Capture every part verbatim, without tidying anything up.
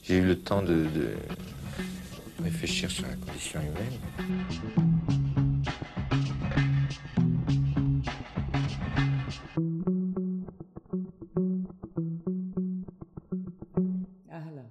J'ai eu le temps de, de réfléchir sur la condition humaine. أهلا.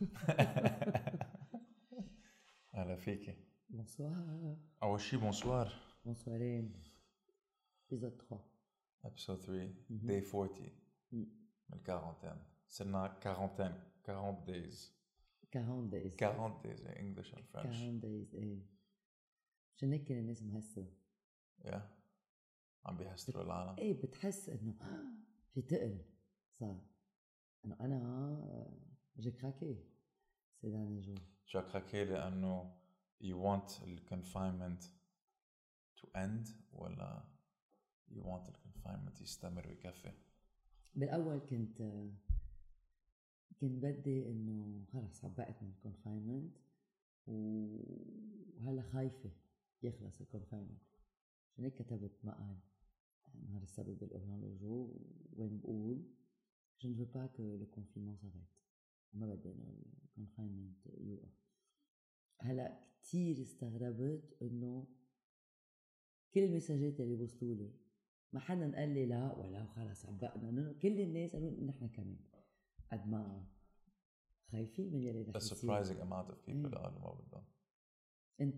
أهلا فيكي. Bonsoir. أول شي bonsoir. Bonsoirين. Épisode trois. Episode three. Mhm. Day forty. Mm. من quarantaine. صرنا quarantaine. quarante days. quarante days. quarante days in English and French. quarante days إيه. عشان هيك كل الناس مهسة. Yeah. عم بيحسروا العالم. إيه بتحس إنه في تقل صار. إنه أنا j'ai craqué ces derniers jours. شو craqué لأنه you want the confinement to end ولا you want the confinement يستمر ويكفي؟ بالأول كنت كنت بدي إنه خلاص عبقت من الكونفاينمنت وهلا خايفة يخلص الكونفاينمنت. عشان هيك كتبت مقال نهار السبت بالأورانوجو وين بقول je ne veux pas que le confinement s'arrête. ما بدي إنه الكونفاينمنت يوقف. هلا كتير استغربت إنه كل المساجات اللي وصلوا لي ما حدا قال لي لا ولا خلاص عبقنا. كل الناس قالوا نحن كمان قد ما خايفين من اللي رح A يصير. surprising amount of people إيه. قالوا ما بدهم. أنت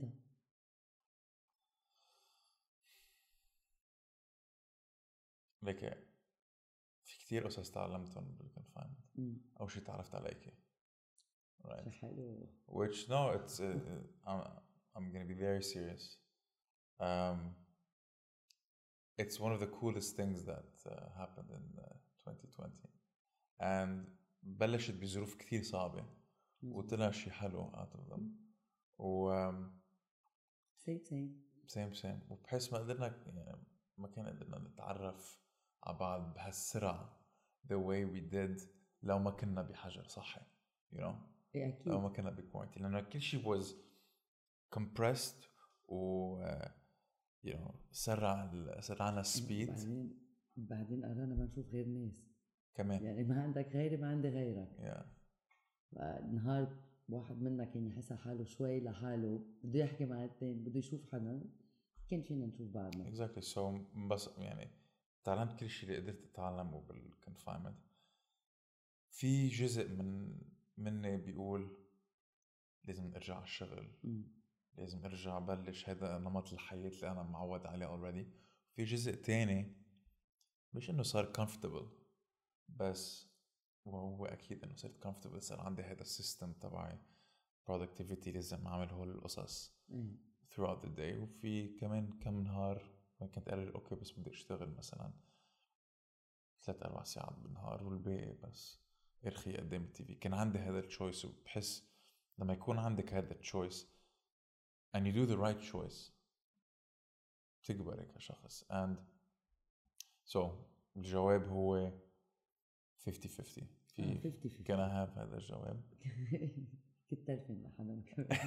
ليك في كتير قصص تعلمتهم بالconfinement. أول شي تعرفت عليكي. Right. حلو. Which no, it's uh, I'm I'm gonna be very serious. Um, it's one of the coolest things that uh, happened in uh, twenty twenty, and بلشت بظروف كثير صعبة وطلع شيء حلو out of them. و um, same same same same وبحس ما قدرنا يعني ما كان قدرنا نتعرف على بعض بهالسرعة the way we did لو ما كنا بحجر صحي, you know. إيه أكيد. لو ما كنا بكوارنتين لأنه كل شيء was compressed و uh, you know سرع سرعنا speed. بعدين بعدين قررنا ما نشوف غير ناس كمان يعني ما عندك غيري ما عندي غيرك. yeah. نهار واحد منا كان يحس حاله شوي لحاله بده يحكي مع الثاني بده يشوف حدا كان فينا نشوف بعضنا. exactly so بس يعني تعلمت كل شيء اللي قدرت أتعلمه بالconfinement. في جزء من مني بيقول لازم ارجع على الشغل م. لازم ارجع بلش هذا نمط الحياة اللي انا معود عليه already. في جزء تاني مش انه صار comfortable بس وهو اكيد انه صرت comfortable صار عندي هذا السيستم تبعي productivity لازم اعمل هول القصص م. throughout the day. وفي كمان كم نهار ما كنت قادر اوكي بس بدي اشتغل مثلا ثلاث اربع ساعات بالنهار والباقي بس ارخي قدام التي في. كان عندي هذا التشويس وبحس لما يكون عندك هذا التشويس and you do the right choice تكبر كشخص. and so الجواب هو fifty fifty. في fifty fifty. can I have هذا الجواب؟ كنت تعرفين لحدا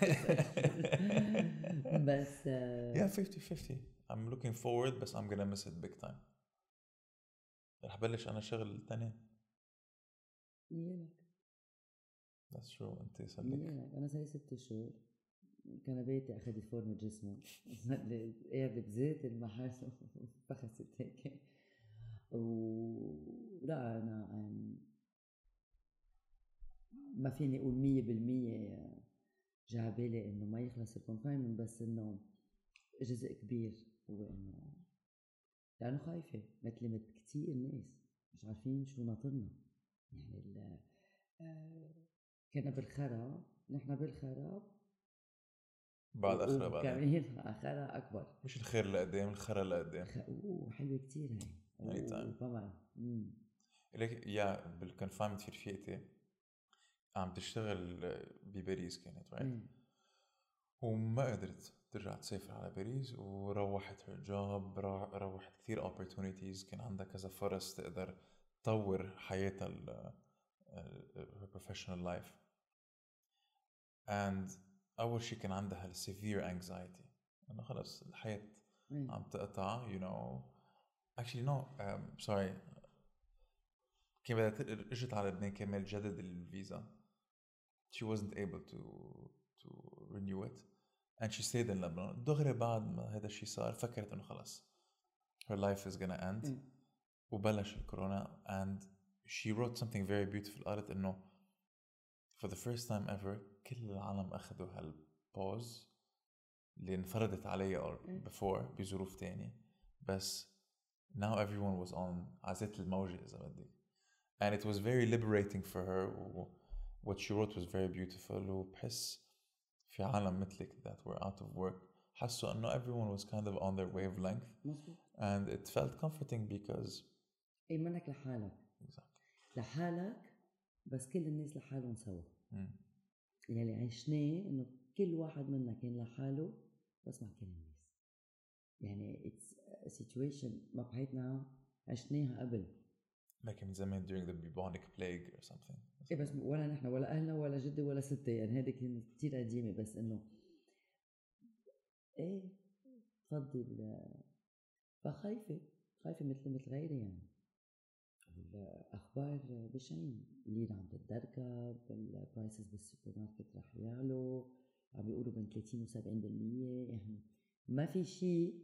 بس yeah fifty fifty. I'm looking forward بس I'm gonna miss it big time. رح بلش أنا شغل التاني. يلك that's true. أنت سلك. أنا صار ست شهور كان بيتي أخذت فورمة جسمي قاعدة بزيت المحاس فخست هيك. ولا أنا ما فيني أقول مية بالمية جعبالي إنه ما يخلص الكونفاينمنت بس إنه جزء كبير هو إنه لأنه خايفة مثل مثل كتير ناس مش عارفين شو ناطرنا. يعني ال كنا بالخرا نحن بالخرا بعد أخرى بعد كمان أخرى أكبر مش الخير لقدام الخرا لقدام. أوه حلوة كتير هاي طبعا. لك يا بالكونفاينمنت في رفيقتي عم تشتغل بباريس كانت right مم. وما قدرت ترجع تسافر على باريس وروحت her job روحت كثير opportunities. كان عندها كذا فرص تقدر تطور حياتها ال her professional life. and أول شيء كان عندها ال severe anxiety إنه خلاص الحياة مم. عم تقطع you know actually no um, sorry كان بدها اجت على لبنان كمان جدد الفيزا. she she wasn't able to to renew it and she stayed in Lebanon. دغري بعد ما هذا الشيء صار فكرت إنه خلاص her life is gonna end. م. وبلش الكورونا and she wrote something very beautiful. قالت إنه for the first time ever كل العالم أخذوا هالبوز اللي انفرضت علي or before بظروف تانية بس now everyone was on عزت الموجة إذا بدك and it was very liberating for her. What she wrote was very beautiful وبحس في عالم مثلك that were out of work حسوا إنه everyone was kind of on their wavelength مظبوط. and it felt comforting because اي منك لحالك exactly. لحالك بس كل الناس لحالهم سوا. mm. يعني عشناه انه كل واحد منا كان لحاله بس مع كل الناس. يعني it's a situation ما بحياتنا عشناها قبل. like من زمان during the bubonic plague or something. ايه بس ولا نحن ولا اهلنا ولا جدي ولا ستي يعني هذه كانت كتير قديمة بس انه ايه تفضل فخايفة خايفة مثل مثل غيري يعني. الأخبار بشعين اللي عم تتدركب البرايسز بالسوبر ماركت رح يعلو عم بيقولوا بين ثلاثين وسبعين بالمية يعني ما في شيء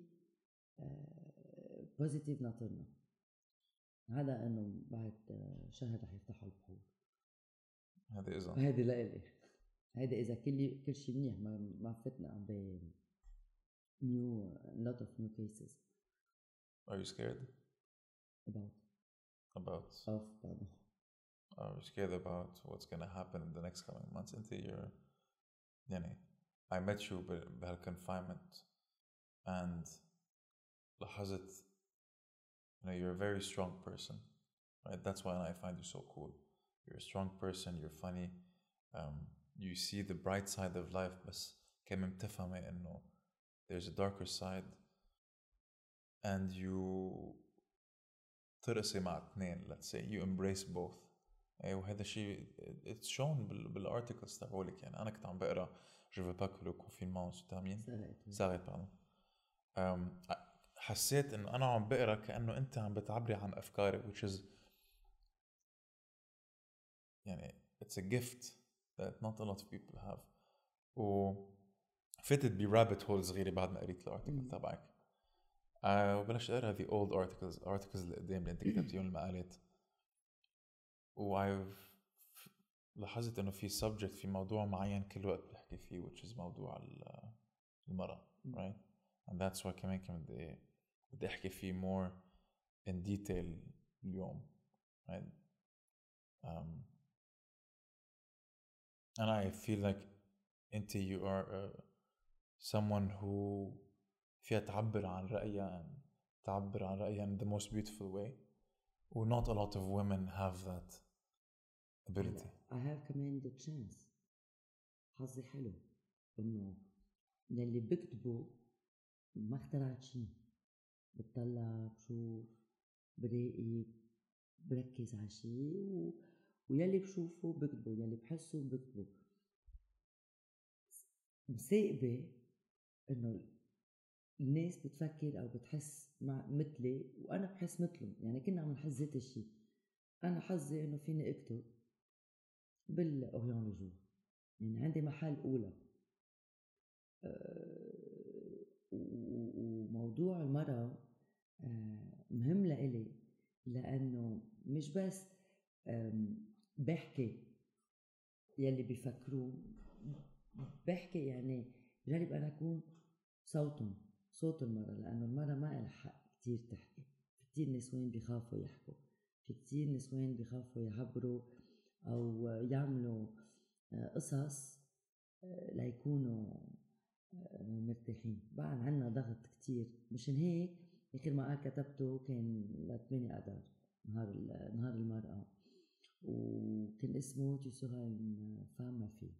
بوزيتيف ناطرنا. هذا إنه بعد شهر رح يفتحوا البحور. هذا إذا هذا لا إلي هذا إذا كل كل شيء منيح ما ما فتنا ب new lot of new cases. Are you scared about about of pardon. Are you scared about what's gonna happen in the next coming months? Into your يعني I met you بهالconfinement and لاحظت you know you're a very strong person, right? That's why I find you so cool. You're a strong person, you're funny, um, you see the bright side of life بس كمان بتفهمي إنه there's a darker side and you ترقصي مع اثنين. Let's say you embrace both. أيوة وهذا الشيء it's shown بالarticles تبعولك. يعني أنا كنت عم بقرأ je veux pas que le confinement se termine. s'arrête pardon. um, حسيت إنه أنا عم بقرأ كأنه أنت عم بتعبري عن أفكاري which is يعني it's a gift that not a lot of people have. و فتت ب rabbit hole صغيرة بعد ما قريت الارتيكل تبعك. أه وبلشت أقرأ the old articles articles اللي قدام اللي أنت كتبتيهم المقالات. و لاحظت إنه في subject في موضوع معين كل وقت بحكي فيه which is موضوع المرأة right and that's why كمان كمان بدي بدي أحكي فيه more in detail اليوم right. um, and I feel like أنت you are uh, someone who فيها تعبر عن رأيها تعبر عن رأيها in the most beautiful way و not a lot of women have that ability. I have كمان the chance. حظي حلو إنه للي بكتبه ما اخترعت شيء. بتطلع بشوف براقب بركز على شيء و... ويلي بشوفه بكتبه يلي بحسه بكتبه. مساقبة إنه الناس بتفكر أو بتحس مع مثلي وأنا بحس مثلهم. يعني كنا عم نحس ذات الشيء. أنا حظي إنه فيني أكتب بالأوريون لوجور. يعني عندي محل أولى. أه وموضوع المرأة أه مهم لإلي لأنه مش بس بحكي يلي بيفكروه بحكي يعني جرب أنا أكون صوتهم صوت المرأة لأنه المرأة ما لها حق كتير تحكي. في كتير نسوان بيخافوا يحكوا في كتير نسوان بيخافوا يعبروا أو يعملوا قصص ليكونوا مرتاحين. بعد عنا ضغط كتير مشان هيك آخر ما قال كتبته كان لثمانية أدار نهار نهار المرأة وكان اسمه tu seras une femme ma fille.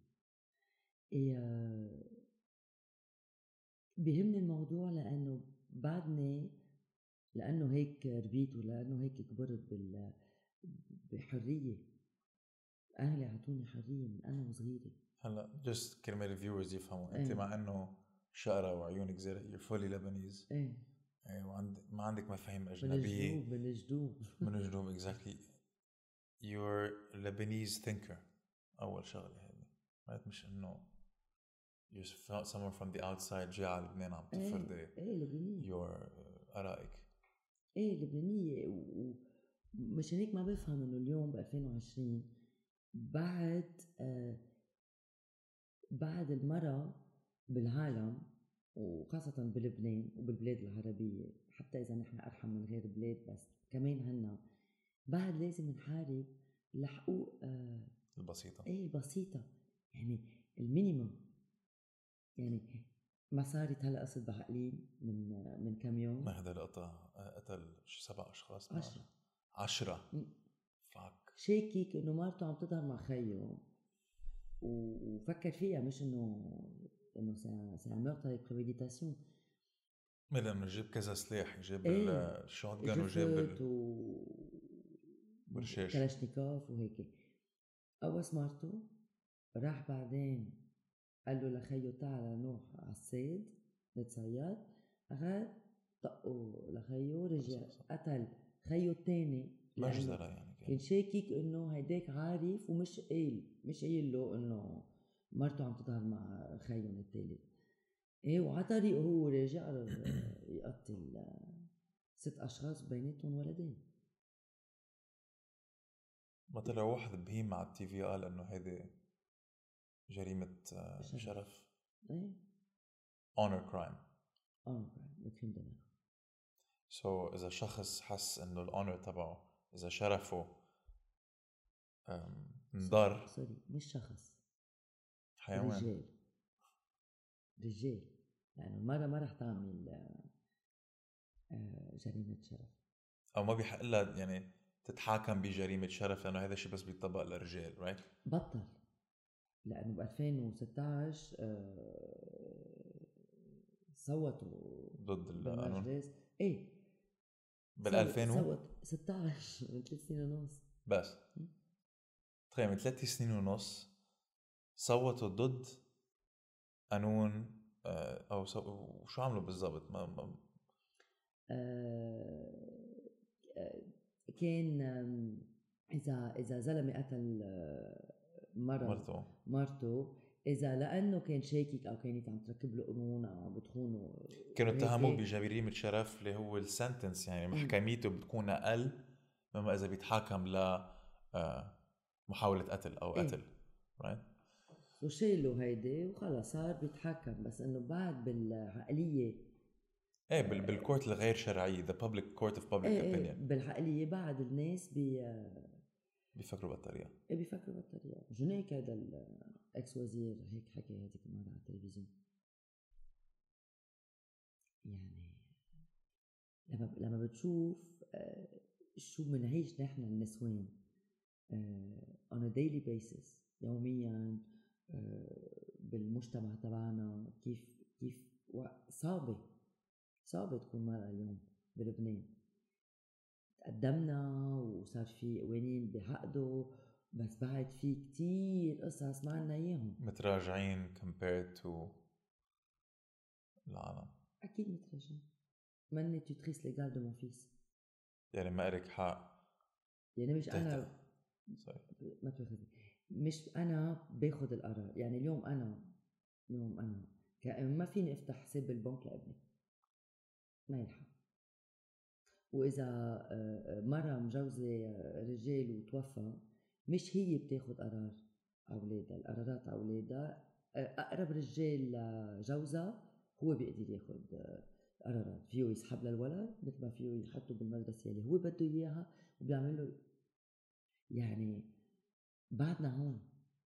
بيهمني الموضوع لأنه بعدني لأنه هيك ربيت ولأنه هيك كبرت بال بحرية. أهلي عطوني حرية من أنا وصغيرة. هلا just كرمال الفيورز يفهموا أنت مع إنه شقرة وعيونك زرق you're fully Lebanese. إيه. إيه وعند ما عندك مفاهيم أجنبية. من الجدوب من الجدوب. من الجدوب exactly. You're a Lebanese thinker. أول شغلة هذه. مش إنه you're someone from the outside جاي على لبنان عم تفرضي ايه ايه لبنانية your آرائك. ايه لبنانية. ومش هيك ما بفهم انه اليوم ب ألفين وعشرين بعد آه بعد المرأة بالعالم وخاصة بلبنان وبالبلاد العربية، حتى إذا نحن أرحم من غير بلاد بس كمان هنا بعد لازم نحارب لحقوق آه البسيطة. ايه البسيطة، يعني المينيمم. يعني ما صارت هلا قصة بعقلين من من كم يوم، ما هذا القطع قتل سبع أشخاص. عشرة عشرة فاك شاكك إنه مرته عم تظهر مع خيه وفكر فيها، مش إنه إنه سي ان meurtre avec préméditation. لأنه جيب كذا سلاح، جيب ايه الشوت جان وجيب ال... و برشاش كلاشنيكوف وهيك. قوس مرته، راح بعدين قال له لخيه تعال نروح على الصيد نتصيد، أخذ طقه لخيه رجع قتل خيه التاني مجزرة يعني كان شاكك انه هيداك عارف ومش قايل مش قايل له انه مرته عم تظهر مع خيهم الثالث. ايه وعلى طريقه هو راجع يقتل ست اشخاص بيناتهم ولدين. ما طلع واحد بهيم على التي في قال انه هيدي جريمة شرف, شرف. ايه honor crime honor crime وكريم دماغ. سو so, اذا شخص حس انه الأونر تبعه اذا شرفه انضر، سوري مش شخص، حيوان، رجال رجال لأنه يعني المرة ما رح تعمل جريمة شرف أو ما بيحق لها يعني تتحاكم بجريمة شرف لأنه هذا الشيء بس بيطبق للرجال right؟ بطل لأنه ب ألفين وستة عشر صوتوا ضد القانون. ايه بال ألفين صوت ستة عشر من ثلاث سنين ونص بس تخيل من ثلاث سنين ونص صوتوا ضد قانون او سو... شو عملوا بالضبط ما, ما... آه... كان اذا اذا زلمه قتل مرة مرته مرته اذا لانه كان شاكك او كانت عم تركب له قانون او عم بتخونه كانوا اتهموه بجريمه شرف اللي هو السنتنس يعني محكميته بتكون اقل مما اذا بيتحاكم ل محاوله قتل او قتل رايت وشيلوا هيدي وخلص صار بيتحكم. بس انه بعد بالعقليه ايه بالكورت الغير شرعيه the public court of public ايه opinion ايه بالعقليه بعد الناس بي بيفكروا بالطريقه ايه بيفكروا بالطريقه. مشان هيك هذا الاكس وزير هيك حكى هذيك المره على التلفزيون. يعني لما لما بتشوف شو بنعيش نحن النسوان on a daily basis يوميا بالمجتمع تبعنا كيف كيف صعبة صعبة تكون مرأة اليوم بلبنان. تقدمنا وصار في قوانين بحقده بس بعد في كتير قصص ما عنا اياهم متراجعين compared to العالم. اكيد متراجعين. ماني tutrice légale de mon fils يعني ما إلك حق يعني مش انا ما تاخذني مش انا باخذ القرار. يعني اليوم انا اليوم انا كأم ما فيني افتح حساب بالبنك لابني ما يلحق. واذا مرة مجوزة رجال وتوفى مش هي بتاخذ قرار اولادها، القرارات اولادها اقرب رجال لجوزها هو بيقدر ياخذ قرارات. فيه يسحب للولد مثل ما فيه يحطه بالمدرسة اللي هو بده اياها وبيعمل له. يعني بعدنا هون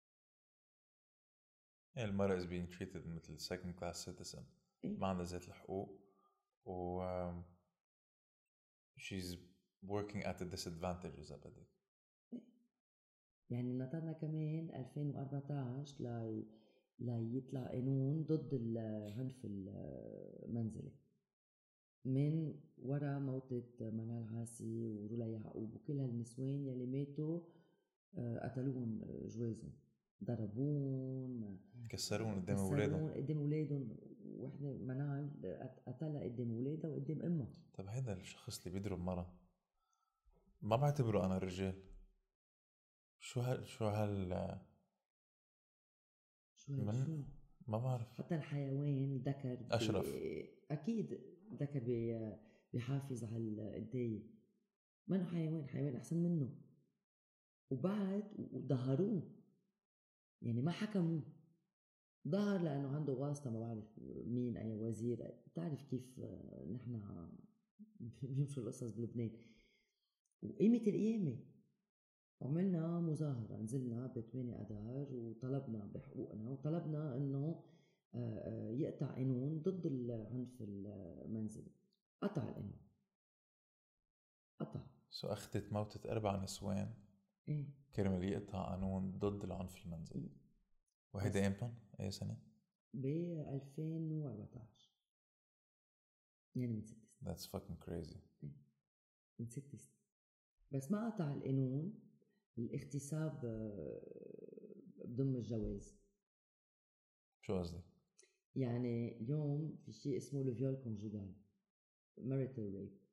المرأة is being treated مثل second class citizen إيه؟ ما عندها ذات الحقوق و um, she's working at a disadvantage إذا بدك. إيه؟ يعني نطرنا كمان ألفين وأربعة عشر لا لا يطلع قانون ضد العنف المنزلي من وراء موتة منال عاسي ورولا يعقوب وكل هالنسوان يلي ماتوا قتلوهم جوازهم ضربون كسرون قدام اولادهم قدام اولادهم. وحده منال قتلها قدام اولادها وقدام امها. طب هذا الشخص اللي بيضرب مرة ما بعتبره انا رجال. شو هال شو هال شو هيك من شو ما بعرف. حتى الحيوان ذكر أشرف. اكيد ذكر بيحافظ على الانتايه، منه حيوان، حيوان احسن منه. وبعد وظهروه يعني ما حكموه، ظهر لانه عنده واسطه، ما بعرف مين، اي وزير، بتعرف كيف نحن بيمشوا القصص بلبنان. وقيمه القيامه عملنا مظاهره، نزلنا ب ثمانية اذار وطلبنا بحقوقنا، وطلبنا انه يقطع قانون ضد العنف المنزلي. قطع القانون، قطع. سو أخذت موتة أربع نسوان ايه كرمال يقطع قانون ضد العنف المنزلي. وهيدا امتى؟ اي سنة؟ ب ألفين وأربعتاشر، يعني من ست سنين. That's fucking crazy. إيه. من ست سنين. بس ما قطع القانون الاغتصاب بضم الجواز. شو قصدي؟ يعني اليوم في شيء اسمه الفيول كونجوغال، marital rape.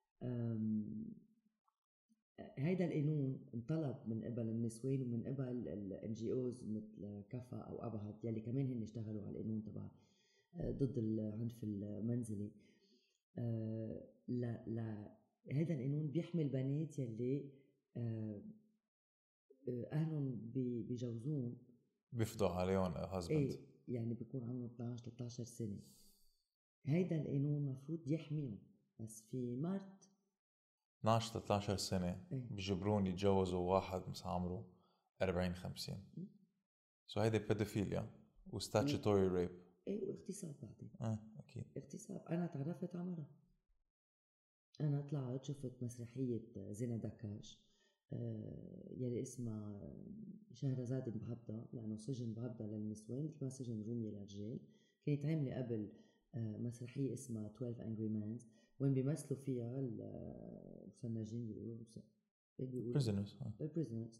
هيدا القانون انطلب من قبل النسوان ومن قبل الان جي اوز مثل كفا او ابهات يلي كمان هن اشتغلوا على القانون تبع ضد العنف المنزلي. لا لا هذا القانون بيحمي البنات يلي اهلهم بيجوزون، بيفضوا عليهم هازبند. ايه يعني بيكون عمرهم اثنعش ثلاثة عشر سنه. هيدا القانون مفروض يحميهم، بس في مارت اثنعش ثلاثة عشر سنة ايه بيجبرون يتجوزوا واحد مثل عمره أربعين خمسين. سو هيدا بيدوفيليا وستاتشيتوري ريب. ايه واغتصاب بعدين. اه اكيد اغتصاب. انا تعرفت على مرة، انا طلعت شفت مسرحية زينة دكاش آه يلي اسمها شهرزاد بهبدة، لانه سجن بهبدة للنسوان مثل ما سجن رومية للرجال. كانت عاملة قبل آه مسرحية اسمها twelve Angry Men وين بيمثلوا فيها المسنجين بيقولوا بيقولوا prisoners. prisoners.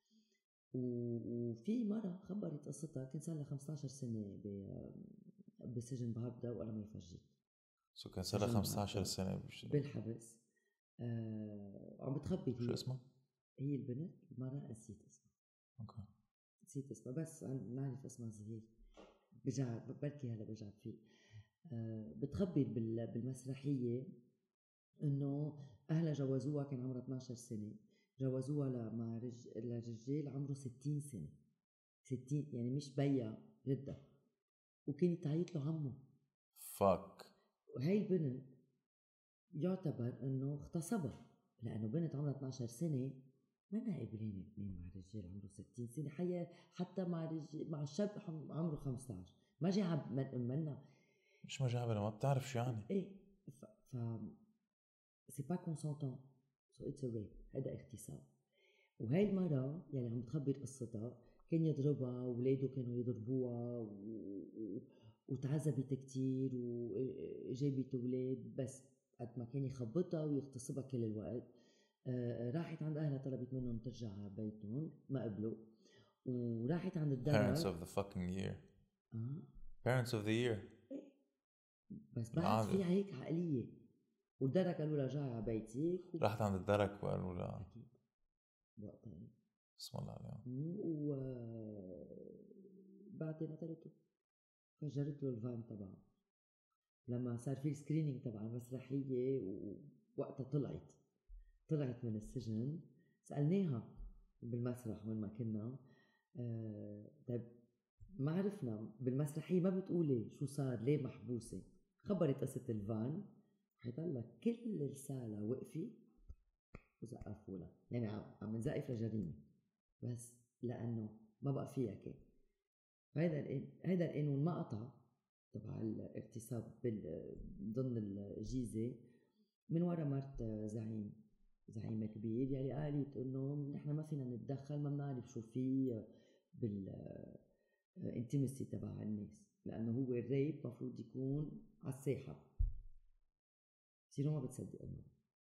وفي مرة خبرت قصتها كان صار لها خمسة عشر سنة بسجن بهبدة وأنا ما يفرجيت. سو كان صار لها خمسة عشر سنة بش... بالحبس. آه... عم بتخبي. شو اسمها؟ هي البنت المرة نسيت اسمها. اوكي نسيت اسمها بس نعرف اسمها زهير. برجع بركي هلا برجع فيه. آه... بتخبي بال... بالمسرحية إنه أهلها جوزوها كان عمرها اثنعش سنة، جوزوها لمع رج... لرجال عمره ستين سنة. ستين يعني مش بيا جدة، وكانت تعيط له عمه. فاك. وهي البنت يعتبر انه اغتصبها، لانه بنت عمرها اثنعش سنة ما قابلين اثنين مع رجال عمره ستين سنة. حيا حتى مع رجال مع الشاب عمره خمسة عشر ما جاب منا. مش ما جابنا، ما بتعرف شو يعني. ايه ف ف سي با كونسونتون، سو اتس ا ريب، هذا اغتصاب. وهي المرة يلي عم بتخبر قصتها كان يضربها، وولاده كانوا يضربوها و... و... وتعذبت كتير وجابت اولاد، بس قد ما كان يخبطها ويغتصبها كل الوقت. آه راحت عند اهلها طلبت منهم ترجع على بيتهم، ما قبلوا. وراحت عند الدرك. parents of the fucking year. اه parents of the year. بس بعد في هيك عقلية. والدرك قالوا لها رجعي على بيتك و... راحت عند الدرك وقالوا لها اكيد وقتها بسم الله عليهم. و بعدين قتلته، فجرت له الفان تبعه لما صار في سكرينينج تبع المسرحية. ووقتها طلعت طلعت من السجن، سألناها بالمسرح وين ما كنا. آه طيب ما عرفنا بالمسرحية ما بتقولي شو صار ليه محبوسة. خبرت قصة الفان، حيطلع كل السالة وقفي وزقفوا لها، يعني عم نزقف لجريمة بس لأنه ما بقى فيها كان. هيدا هيدا القانون ما قطع تبع الاغتصاب ضمن الجيزة من ورا مرت زعيم زعيم كبير يلي قالت انه نحن ما فينا نتدخل، ما بنعرف شو في بالانتيمسي تبع الناس، لانه هو الريب مفروض يكون على الساحة. بصيروا ما بتصدقوا المرة.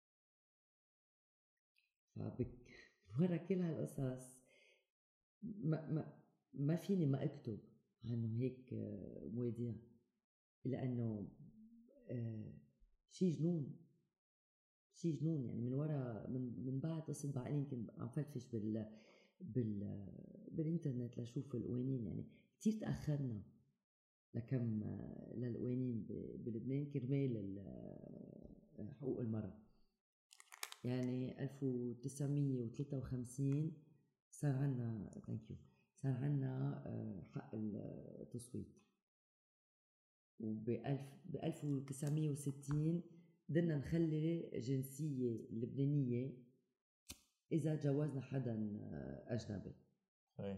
فبك ورا كل هالقصص ما ما ما فيني ما اكتب عنه هيك مواضيع، لانه آه شي جنون شي جنون. يعني من ورا من من بعد قصة بعقلين كنت عم فتش بال بال بالانترنت لشوف القوانين. يعني كتير تأخرنا لكم للقوانين بلبنان كرمال حقوق المرأة. يعني ألف وتسعمية وثلاثة وخمسين صار عنا ثانك يو صار عنا حق التصويت، وبألف بألف وتسعمية وستين بدنا نخلي جنسية لبنانية إذا جوزنا حدا أجنبي. أي.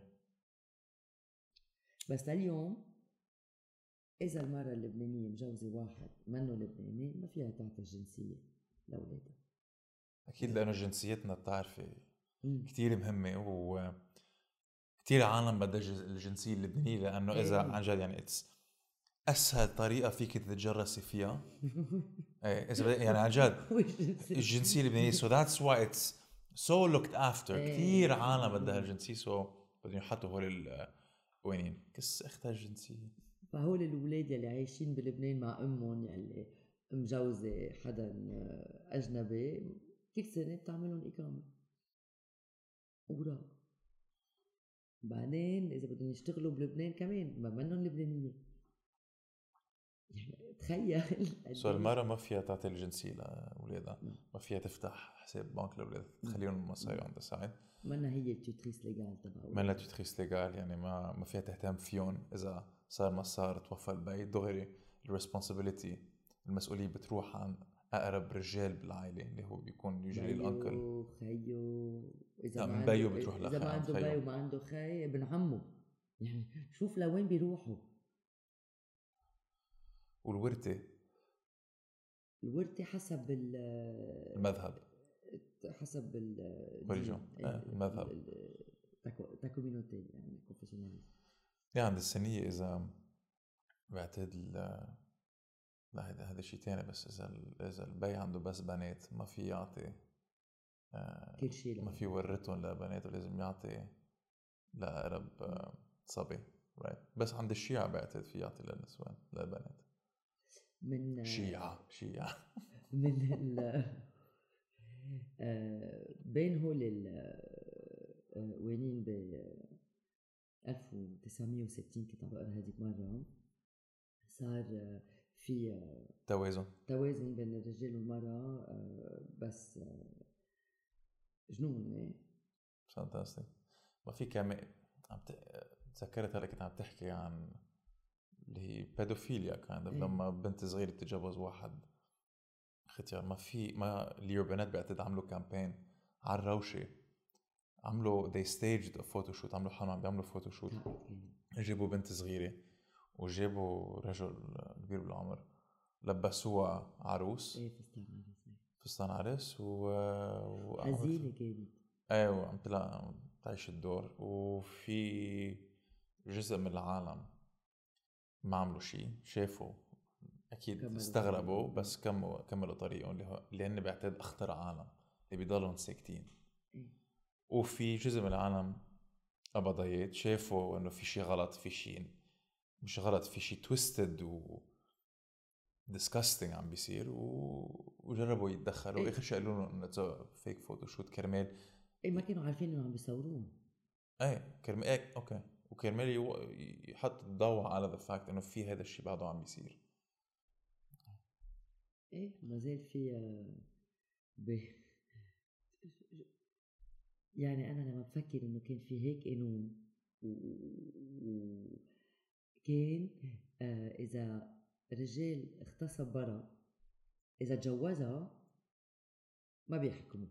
بس اليوم إذا المرأة اللبنانية مجوزة واحد منه لبناني ما فيها تعطي الجنسية لأولادها. أكيد لأنه جنسيتنا بتعرفي كتير مهمة، وكتير عالم بدها الجنسية اللبنانية، لأنه إذا عن جد يعني أسهل طريقة فيك تتجرسي فيها. إيه إذا يعني عن جد الجنسية اللبنانية. so that's why it's so looked after. كتير عالم بدها الجنسية، so بدهم يحطوا هول القوانين كس اختها الجنسية. فهول الأولاد اللي عايشين بلبنان مع أمهم اللي مجوزة حدا أجنبي كل سنة بتعملهم إقامة أوراق، بعدين إذا بدهم يشتغلوا بلبنان كمان ما منهم لبنانية. يعني تخيل سو المرأة ما فيها تعطي الجنسية لأولادها، ما فيها تفتح حساب بنك لأولادها تخليهم مصاري عند ساعد، منا هي التوتريس ليغال تبعها، منا التوتريس ليغال. يعني ما ما فيها تهتم فيهم. إذا صار ما صار توفى البيت دغري الريسبونسابيلتي المسؤولية بتروح عن أقرب رجال بالعائلة اللي هو بيكون يجري الأنكل خيو. إذا ما عنده بتروح إذا ما عنده بي وما عنده خي ابن عمه. يعني شوف لوين بيروحوا. والورثة الورثة حسب المذهب، حسب المذهب تاكومينوتي يعني كونفيسيوناليزم. يعني عند السنية إذا بعتقد لا هذا هذا شيء تاني. بس إذا إذا البي عنده بس بنات ما في يعطي آه كل شيء، ما في ورثهم لبناته، لازم يعطي لأقرب آه صبي right. بس عند الشيعة بعتقد في يعطي للنسوان للبنات من شيعة شيعة من ال بين هول القوانين ب ألف وتسعمية وستين كنت عم بقرا هذيك مرة صار في توازن توازن بين الرجال والمرأة. بس جنون فانتاستيك. ما في كمان عم تذكرت هلا كنت عم تحكي عن اللي هي بيدوفيليا كان إيه؟ لما بنت صغيرة تتجوز واحد ختيار. ما في ما اليوبينات بعتقد عملوا كامبين على الروشة، عملوا they staged a photo shoot، عملوا حالهم عم بيعملوا فوتو شوت، جابوا بنت صغيرة وجابوا رجل كبير بالعمر لبسوها عروس ايه فستان عروس فستان عرس و حزينة كانت ايوه عم تلا تعيش الدور. وفي جزء من العالم ما عملوا شيء، شافوا اكيد استغربوا بس كملوا كملوا طريقهم اللي اللي هن بعتقد اخطر عالم اللي بيضلوا ساكتين. وفي جزء من العالم أبضيات شافوا إنه في شيء غلط، في شيء مش غلط، في شيء twisted و disgusting عم بيصير و... وجربوا يتدخلوا. إيه؟ آخر شيء قالوا لهم إنه ده فيك فوتوشوت كرمال إيه ما كانوا عارفين إنه عم بيصورون. إيه كرمال إيه أوكي وكرمال يو... يحط الضوء على the fact إنه في هذا الشيء بعده عم بيصير. إيه ما زال في ب... يعني أنا لما بفكر إنه كان في هيك قانون وكان آه إذا رجال اغتصب برا إذا تجوزها ما بيحكموا.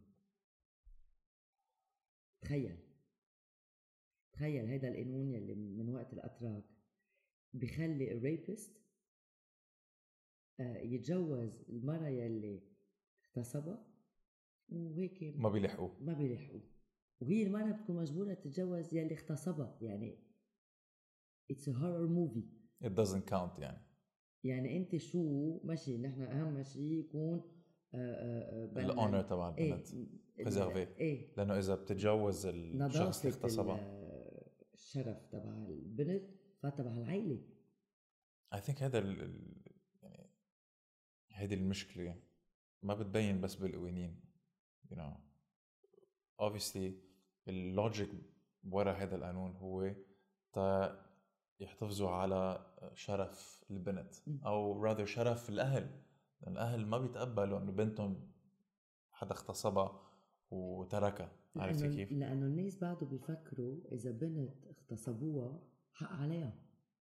تخيل تخيل هيدا القانون يلي من وقت الأتراك بيخلي الريبست آه يتجوز المرأة يلي اغتصبها وهيك ما بيلحقوا ما بيلحقوا وهي المرأة بتكون مجبورة تتجوز يلي اغتصبها. يعني it's a horror movie. it doesn't count. يعني يعني انت شو ماشي نحن اهم شيء يكون الاونر تبع البنت بريزيرفي ايه؟ لانه اذا بتتجوز الشخص اللي اغتصبها الشرف تبع البنت فتبع العائله. I think هذا ال... يعني هذه المشكله ما بتبين بس بالقوانين you know obviously اللوجيك ورا هذا القانون هو تا يحتفظوا على شرف البنت م. او rather شرف الاهل. الاهل ما بيتقبلوا انه بنتهم حدا اغتصبها وتركها. عرفتي لأنه كيف؟ لأنه الناس بعده بيفكروا إذا بنت اغتصبوها حق عليها،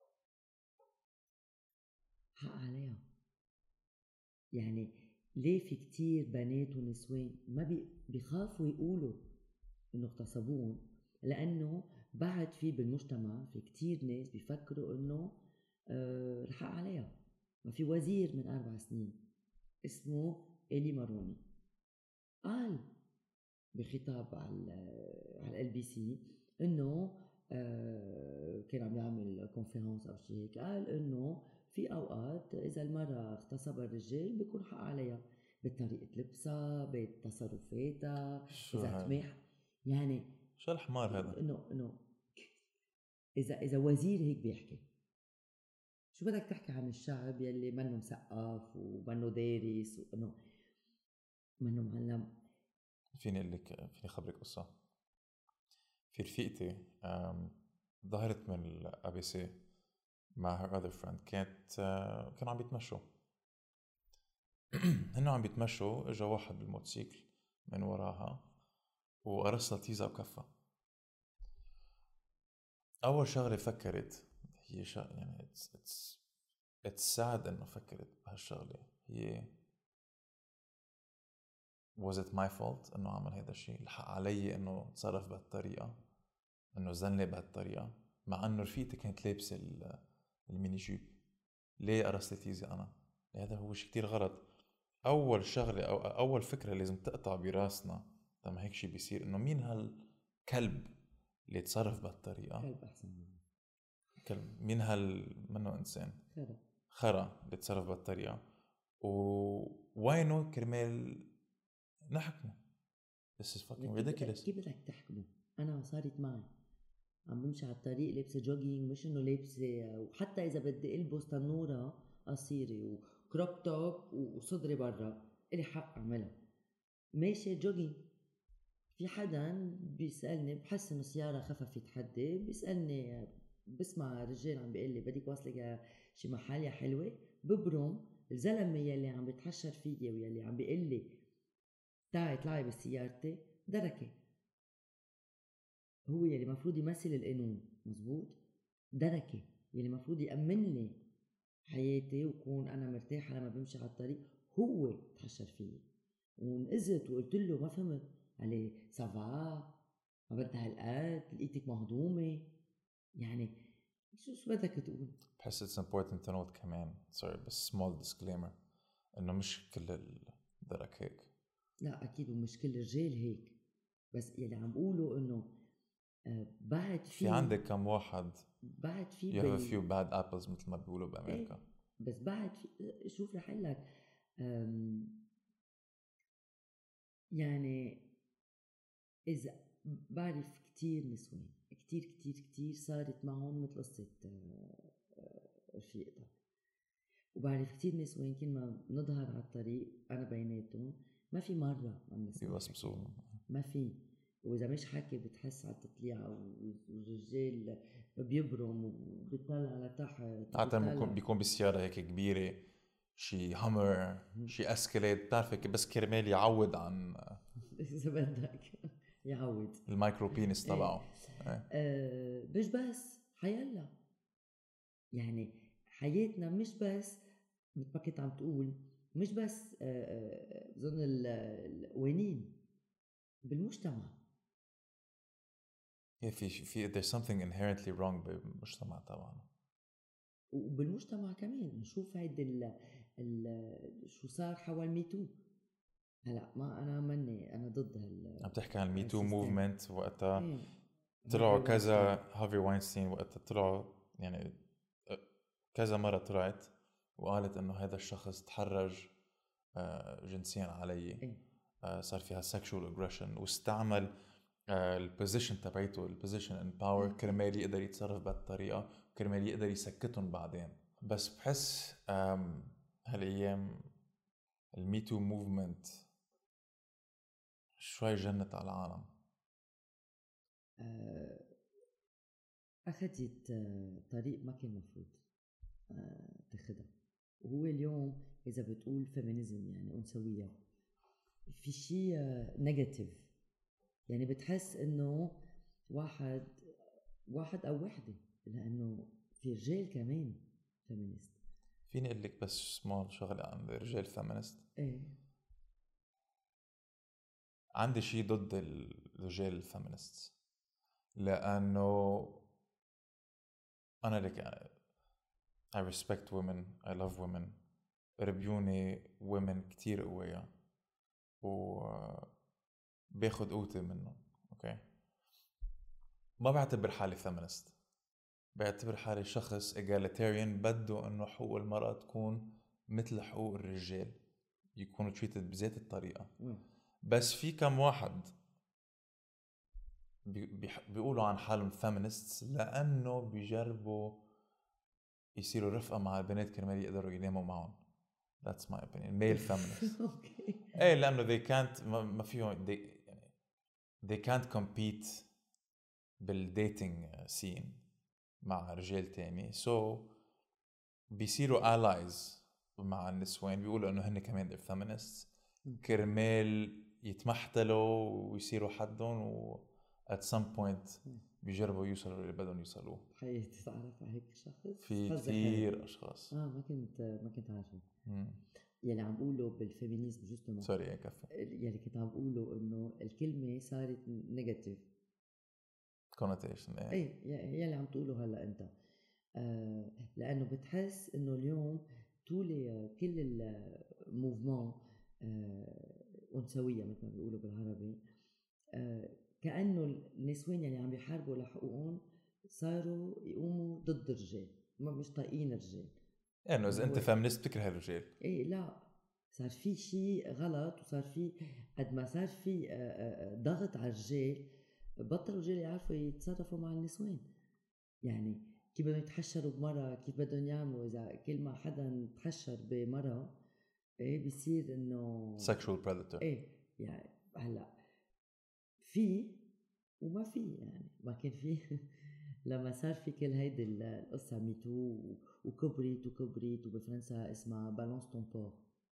حق عليها. يعني ليه في كتير بنات ونسوان ما بي بيخافوا يقولوا إنه اغتصبوهم؟ لأنه بعد في بالمجتمع في كتير ناس بيفكروا إنه آه الحق عليها. ما في وزير من أربع سنين اسمه إيلي ماروني قال بخطاب على على ال بي سي انه آه كان عم يعمل كونفرنس او شيء هيك، قال انه في اوقات اذا المراه اغتصبها الرجال بيكون حق عليها بطريقه لبسها بتصرفاتها شو اذا هذا؟ تماح. يعني شو الحمار هذا؟ انه انه اذا اذا وزير هيك بيحكي، شو بدك تحكي عن الشعب يلي منه مثقف ومنه دارس وانه منه معلم؟ فيني اقول لك فيني خبرك قصه. في رفيقتي ظهرت من الأ بي سي مع her other friend. كانت كانوا عم بيتمشوا هنو عم بيتمشوا، اجا واحد بالموتوسيكل من وراها وقرصها تيزا وكفها. اول شغله فكرت هي شا يعني اتس اتس اتس sad انه فكرت بهالشغله هي was it my fault انه عمل هذا الشيء؟ الحق علي انه تصرف بهالطريقه، انه زنلي بهالطريقه، مع انه رفيقتي كانت لابسه الميني جيب. ليه قرصت تيزي انا؟ هذا هو شيء كتير غلط. اول شغله او اول فكره لازم تقطع براسنا لما هيك شيء بيصير انه مين هالكلب اللي يتصرف بهالطريقه؟ كلب احسن منه. كلب. مين هال منه انسان؟ خرا خرا اللي يتصرف بهالطريقه. ووينه كرمال نحكمه؟ This is fucking ridiculous. كيف بدك تحكمه؟ انا صارت معي عم بمشي على الطريق لابسه جوجينج، مش انه لابسه، وحتى اذا بدي البس تنوره قصيره وكروب توب وصدري برا الي حق اعملها، ماشي جوجينج. في حدا بيسالني، بحس انه السياره خففت حدي، بيسالني بسمع رجال عم بيقول لي بدك واصله شي محل يا حلوه، ببرم الزلمه يلي عم بيتحشر فيي ويلي عم بيقول لي تعي اطلعي بسيارتي دركه. هو يلي مفروض يمثل القانون، مزبوط، دركه يلي مفروض يأمن لي حياتي وكون انا مرتاحه لما بمشي على الطريق، هو تحشر فيي ونقزت وقلت له ما فهمت عليه سافا، ما بدها هالقد، لقيتك مهضومه. يعني شو شو بدك تقول؟ بحس it's important to note كمان sorry بس small disclaimer انه مش كل الدرك هيك. لا اكيد ومش كل الرجال هيك، بس يلي عم بقوله انه آه بعد في في عندك كم واحد بعد في you have a few bad apples مثل ما بيقولوا بامريكا. ايه بس بعد في، شوف رح اقول لك يعني اذا بعرف كتير نسوان كتير كتير كتير صارت معهم مثل قصه رفيقتك، وبعرف كتير نسوان كل ما نظهر على الطريق انا بيناتهم ما في مره ما بنسمع بيوسبسوا، ما في. واذا مش حكي بتحس على التطليعه والرجال بيبرم وبيطلع لتحت. عادة بيكون بالسيارة هيك كبيرة، شي هامر شي اسكليد، بتعرفي بس كرمال يعود عن اذا بدك يعود المايكرو بينس تبعه. ايه. آه مش بس حيلا، يعني حياتنا مش بس مثل ما كنت عم تقول، مش بس بظن القوانين بالمجتمع. في في there's something inherently wrong بالمجتمع تبعنا. وبالمجتمع كمان نشوف هيدا ال ال شو صار حول ميتو. هلا ما انا مني انا ضد هال عم تحكي عن الميتو موفمنت وقتها ايه. طلعوا كذا هافي واينستين وقتها طلعوا يعني كذا مرة طلعت وقالت انه هذا الشخص تحرج جنسيا علي. ايه. صار فيها sexual aggression واستعمل البوزيشن تبعته البوزيشن ان باور كرمال يقدر يتصرف بهالطريقة كرمال يقدر يسكتهم بعدين. بس بحس هالايام الميتو موفمنت شوي جنت على العالم. أه أخذت آه، طريق ما كان مفروض آه، تاخدها. وهو اليوم إذا بتقول فيمينيزم يعني أنثوية في شيء نيجاتيف، يعني بتحس إنه واحد واحد أو وحدة، لأنه في رجال كمان فيمينيست. فيني اقول لك بس سمول شغله عن الرجال فيمينست. إيه عندي شيء ضد الرجال الفيمينست، لانه انا لك I respect women, I love women. ربيوني women كتير قوية و باخد قوتي منهم. اوكي، ما بعتبر حالي فيمينست، بعتبر حالي شخص egalitarian بده انه حقوق المرأة تكون مثل حقوق الرجال، يكونوا treated بذات الطريقة. بس في كم واحد بي بيقولوا عن حالهم feminists لأنه بيجربوا يصيروا رفقة مع البنات كرمال يقدروا يناموا معهم. That's my opinion. Male feminists. ايه لأنه they can't ما فيهم they يعني they can't compete بالdating scene مع رجال تاني، so بيصيروا allies مع النسوان، بيقولوا إنه هن كمان they're feminists كرمال يتمحتلوا ويصيروا حدهم، و at some point بيجربوا يوصلوا اللي بدهم يوصلوه. حقيقي تعرف على هيك شخص؟ في كثير اشخاص. اه ما كنت ما كنت عارفه. يلي عم بقوله بالفيمينيزم جوستومون سوري يا كفي، يلي كنت عم بقوله انه الكلمه صارت نيجاتيف كونوتيشن. ايه يلي عم تقوله هلا انت، آه لانه بتحس انه اليوم طول كل الموفمون آه انثويه مثل ما بيقولوا بالعربي، آه كأنه النسوان اللي عم بيحاربوا لحقوقهم صاروا يقوموا ضد الرجال، ما مش طايقين الرجال. يعني إذا أنت فيمينيست بتكره الرجال؟ إيه لا، صار في شيء غلط، وصار في قد ما صار في ضغط على الرجال بطلوا الرجال يعرفوا يتصرفوا مع النسوان. يعني كيف بدهم يتحشروا بمرة، كيف بدهم يعملوا، إذا كل ما حدا تحشر بمرة إيه بيصير إنه sexual predator. إيه يعني هلا في وما في، يعني ما كان في لما صار في كل هيدي القصة ميتو وكبريت وكبريت وبفرنسا اسمها بالانس تون بور،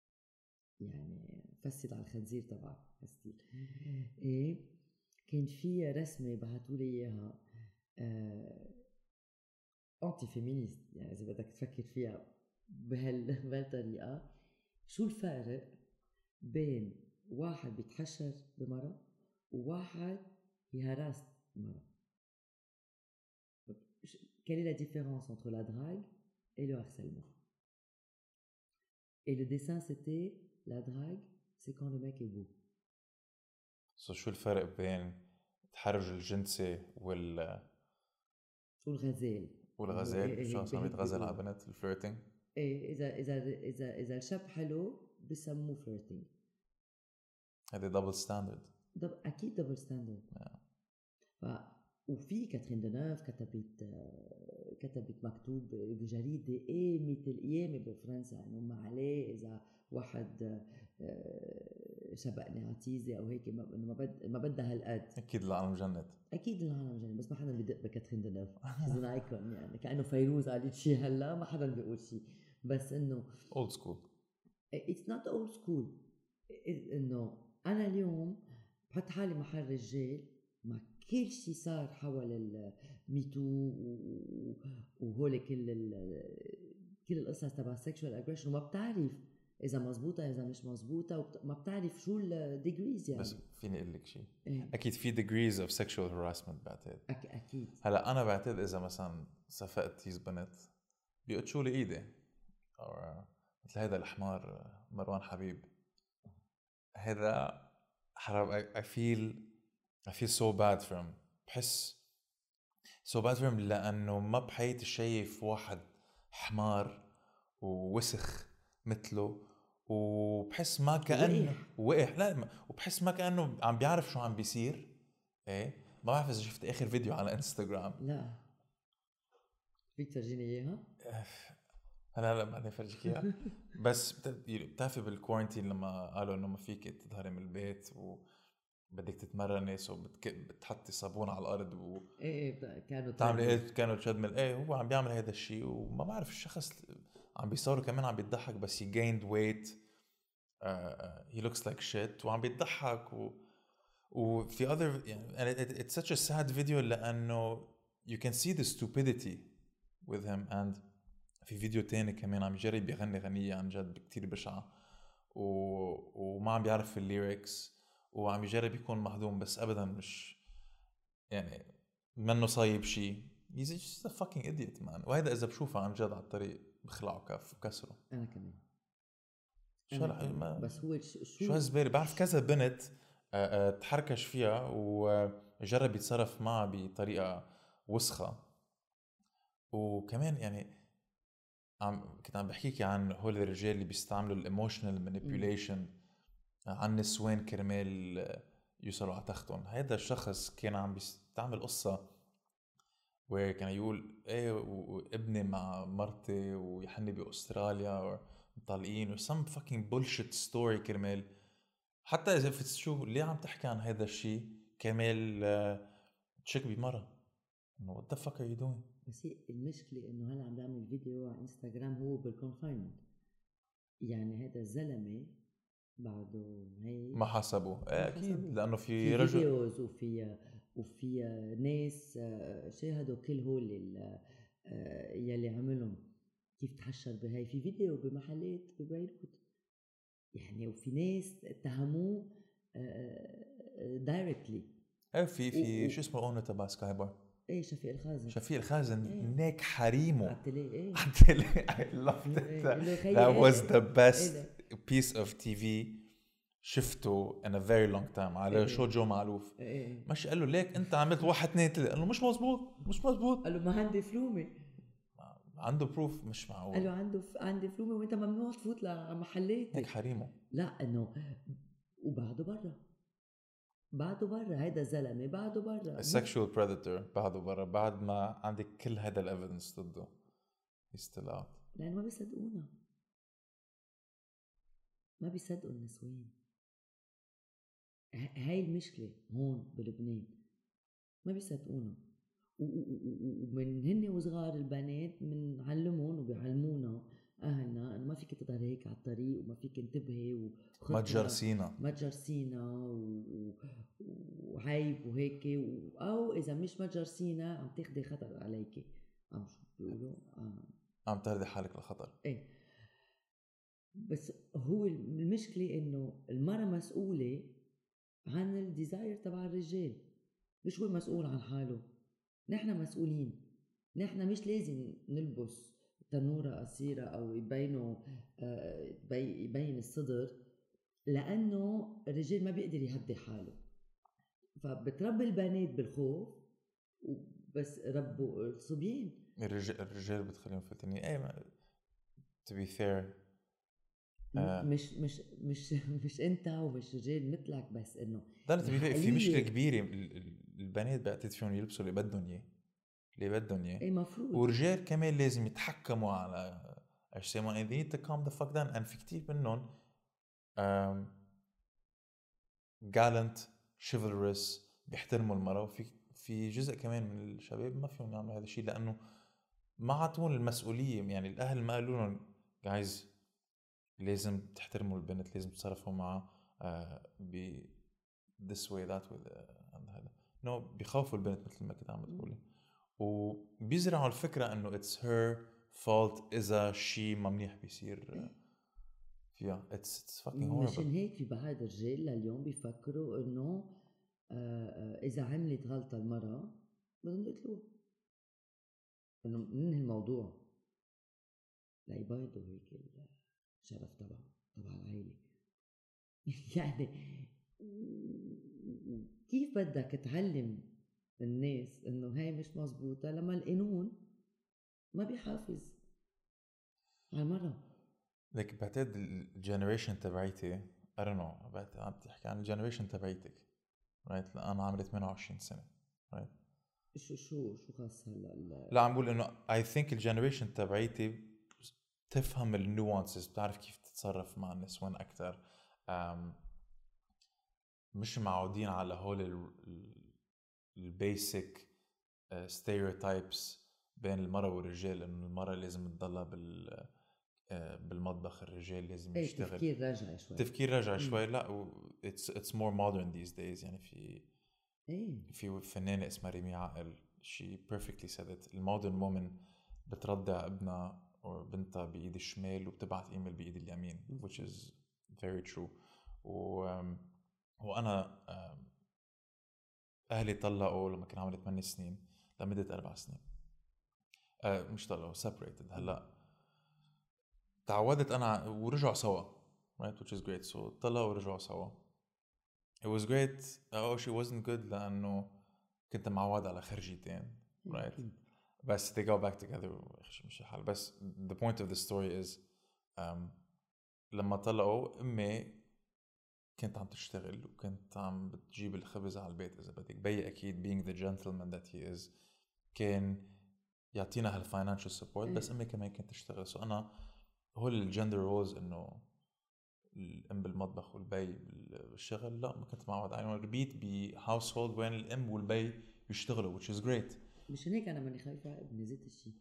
يعني فسد على الخنزير تبعك فسد. ايه كان في رسمة بعتولي اياها آه انتي فيمينيست، يعني اذا بدك تفكر فيها بهال بهالطريقة، شو الفارق بين واحد بيتحشر بمرة وواحد يهراس مرة؟ Quelle est la différence entre la drague et le harcèlement? Et le dessin c'était la drague, c'est quand le mec est beau. So شو الفرق بين التحرش الجنسي وال والغزال والغزال؟ شو عم يتغزل على بنات الفليرتينج؟ ايه اذا اذا اذا اذا الشاب حلو بسموه فليرتينج. هذا دبل ستاندرد. دب... اكيد دبل ستاندرد. ف وفي كاترين دنوف كتبت كتبت مكتوب بجريدة ايه مثل ايامي بفرنسا انه ما عليه اذا واحد شبقني عتيزة او هيك انه ما بد ما بدها هالقد. اكيد العالم جنت، اكيد العالم جنت، بس ما حدا بدق بكاترين دنوف. شيز ايكون، يعني كانه فيروز قالت شيء هلا ما حدا بيقول شيء، بس انه اولد سكول. اتس نوت اولد سكول. انه انا اليوم بحط حالي محل رجال مع كل شيء صار حول الميتو وهول كل كل القصص تبع السكشوال اجريشن، وما بتعرف اذا مزبوطه اذا مش مزبوطه، وما بتعرف شو الديجريز. يعني بس فيني اقول لك شيء، إيه؟ اكيد في degrees of sexual harassment بعتقد. أك اكيد. هلا انا بعتقد اذا مثلا صفقت تيز بنت بيقطشوا لي ايدي، او مثل هذا الحمار مروان حبيب، هذا حرام. I feel I feel so bad for him. بحس so bad for him لأنه ما بحياتي شايف واحد حمار ووسخ مثله، وبحس ما كأنه وقح. لا، وبحس ما كأنه عم بيعرف شو عم بيصير. ايه ما بعرف إذا شفت آخر فيديو على انستغرام. لا فيك ترجيني إياها؟ هلا هلا بعدين فرجيك إياها. بس بتعرفي بالكورنتين لما قالوا إنه ما فيك تظهري من البيت و بدك تتمرني سو بتك... بتحطي صابون على الارض و ايه ايه كانوا تعمل ايه كانوا تشدمل ايه هو عم بيعمل هذا الشيء وما بعرف الشخص عم بيصوروا كمان عم بيضحك بس he gained weight uh, uh, he looks like shit وعم بيضحك و وفي other يعني it, it's such a sad video لأنه you can see the stupidity with him and في فيديو تاني كمان عم يجرب يغني غنية عن جد كتير بشعة و... وما عم بيعرف الليركس وعم يجرب يكون مهضوم بس أبدا مش يعني منه صايب شيء he's just a fucking idiot man وهذا إذا بشوفه عن جد على الطريق بخلعه كف وكسره أنا كمان شو هالح- ما بس هو ش- شو شو هالزبالة بعرف كذا بنت آه، آه، تحركش فيها وجرب يتصرف معها بطريقة وسخة وكمان يعني عم كنت عم بحكيكي عن هول الرجال اللي بيستعملوا الايموشنال مانيبيوليشن عن نسوان كرمال يوصلوا على تختهم هذا الشخص كان عم بيستعمل قصة وكان يقول ايه وابني مع مرتي ويحني باستراليا ومطلقين و some fucking bullshit story كرمال حتى اذا في شو ليه عم تحكي عن هذا الشيء كرمال تشك بمرة انه what the fuck are you doing بس هي المشكلة إنه هلا عم بعمل فيديو على إنستغرام هو بالكونفاينمنت يعني هذا الزلمة بعده هي ما حسبوا ما اكيد حسبوه. لانه في في رجل فيديوز وفي وفي ناس آه، شاهدوا كل هول ال- آه، يلي عملهم كيف تحشر بهاي في فيديو بمحلات ببيروت يعني وفي ناس اتهموه دايركتلي ايه في في و- شو اسمه اونر تبع سكاي بار ايه شفيق الخازن شفيق الخازن إيه. نيك حريمه عتلي ايه عتلي I loved إيه، it قال له خيي that was إيه، the best إيه piece of تي في شفته in a very long time على إيه. شو جو معلوف إيه، إيه. مش قال له ليك انت عملت واحد اثنين ثلاثة قال له مش مزبوط مش مزبوط قال له ما عندي فلومه عنده بروف مش قال له معقول عنده ف... عندي فلومه وانت ممنوع تفوت لمحلاتي نيك حريمه لا انه وبعده برا بعده برا هيدا الزلمه بعده برا السكشوال بريدتور بعده برا بعد ما عندك كل هذا الايفيدنس ضده he's still out لانه ما بيصدقونا ما بيصدقوا النسوان ه- هاي المشكله هون بلبنان ما بيصدقونا و- و- و- ومن هن وصغار البنات بنعلمهم وبيعلمونا اهلنا انه ما فيك تضل هيك على الطريق وما فيك تنتبهي ما تجرسينا ما تجرسينا و- و- وعيب وهيك و... او اذا مش ما تجرسينا عم تاخدي خطر عليكي عم شو بيقولوا آه. عم تهدي حالك للخطر ايه بس هو المشكله انه المرأة مسؤوله عن الديزاير تبع الرجال مش هو مسؤول عن حاله نحن مسؤولين نحن مش لازم نلبس تنورة قصيرة او يبينوا آه يبين الصدر لانه الرجال ما بيقدر يهدي حاله فبتربي البنات بالخوف بس ربوا الصبيان الرجال الرجال بتخليهم فتنين ايه ما... to be fair آه. مش مش مش مش انت ومش رجال مثلك بس انه ضلت في مشكله كبيره البنات بعتقد فيهم يلبسوا اللي بدهم اياه اللي بدهم اياه ايه مفروض ورجال كمان لازم يتحكموا على اجسامهم they need to calm the fuck down and في كتير منهم um, gallant chivalrous بيحترموا المرأة وفي في جزء كمان من الشباب ما فيهم يعملوا هذا الشيء لأنه ما عطون المسؤولية يعني الأهل ما قالوا لهم guys لازم تحترموا البنت لازم تصرفوا معها uh, ب this way that way هذا no بيخافوا البنت مثل ما كنت عم بتقولي وبيزرعوا الفكرة إنه it's her fault إذا شيء ما منيح بيصير فيها it's it's fucking horrible مشان هيك في بعض الرجال لليوم بيفكروا إنه آه إذا عملت غلطة المرأة بدهم يقتلوها إنه من الموضوع لا يبيضوا هيك الشرف تبع تبع العائلة يعني كيف بدك تعلم الناس إنه هاي مش مزبوطة لما القانون ما بيحافظ على المرأة لك بعتقد الجنريشن تبعيتي I don't know بعتقد عم تحكي عن الجنريشن تبعيتك right أنا عمري ثمانية وعشرين سنة right شو شو شو خاص هلا لا عم بقول إنه I think الجنريشن تبعيتي تفهم النوانسز بتعرف كيف تتصرف مع النسوان أكتر um, مش معودين على هول البيسك ستيريوتايبس بين المرأة والرجال، إنه المرأة لازم تضلها بال بالمطبخ، الرجال لازم ايه يشتغل. تفكير راجع شوي تفكير راجع مم. شوي. لا و it's it's more modern these days. يعني في ايه في فنانة اسمها ريمي عقل she perfectly said it. المودرن وومن بترضع ابنها أو بنتها بإيد الشمال وبتبعت إيميل بإيد اليمين مم. which is very true. و وأنا أهلي طلقوا لما كان عمري ثمانية سنين لمدة أربع سنين. أه مش طلقوا separated. هلا تعودت أنا ورجعوا سوا right which is great. so طلقوا ورجعوا سوا. it was great. oh she wasn't good لأنه كنت معود على خرجيتين right. بس they go back together مش الحال. بس the point of the story is um, لما طلقوا أمي كنت عم تشتغل وكنت عم بتجيب الخبز على البيت إذا بدك. بي أكيد being the gentleman that he is كان يعطينا هالفاينانشال سبورت. بس أمي كمان كانت تشتغل. سو أنا هول الجندر رولز إنه الأم بالمطبخ والبي بالشغل لا ما كنت معود عليه. ربيت بهاوس هولد وين الأم والبي بيشتغلوا which is great. مش هيك أنا ماني خايفة على ابني زيت الشيء.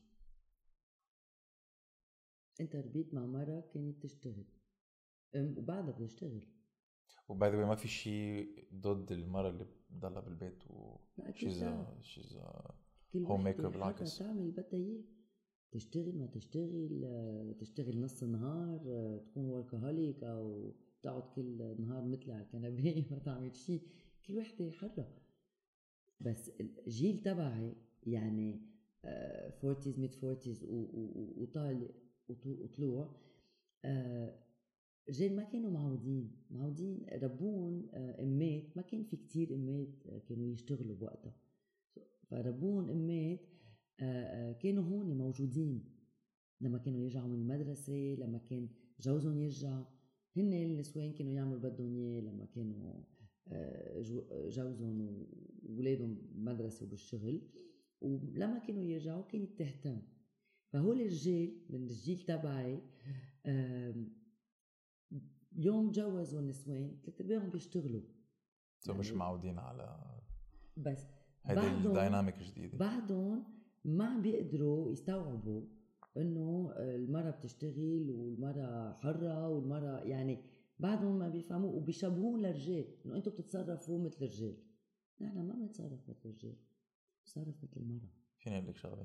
أنت ربيت مع مرة كانت تشتغل أم وبعدها بتشتغل. وباي ذا واي ما في شيء ضد المرة اللي بتضلها بالبيت و she's a she's a homemaker. بالعكس تعمل اللي بدها إياه. تشتغل ما تشتغل تشتغل نص النهار تكون وركهوليك أو تقعد كل نهار مثلي على الكنبة ما تعمل شيء. كل وحدة حرة. بس الجيل تبعي يعني فورتيز ميد فورتيز وطالع وطلوع رجال ما كانوا معودين معودين ربون أمات. ما كان في كتير أمات كانوا يشتغلوا بوقتها. فربون أمات كانوا هون موجودين لما كانوا يرجعوا من المدرسة، لما كان جوزهم يرجع. هن النسوان كانوا يعملوا بدهم اياه لما كانوا جوزهم وولادهم بالمدرسة وبالشغل. ولما كانوا يرجعوا كانت تهتم. فهول الرجال من الجيل تبعي يوم جوزوا النسوان ثلاث ارباعهم بيشتغلوا. سو مش معودين على بس هيدي الديناميك جديدة. بعدهم ما عم بيقدروا يستوعبوا انه المرأة بتشتغل والمرأة حرة والمرأة يعني بعدهم ما بيفهموا وبيشبهون للرجال انه انتوا بتتصرفوا مثل الرجال. نحن ما بنتصرف مثل الرجال، بنتصرف مثل المرأة. فيني اقول لك شغله؟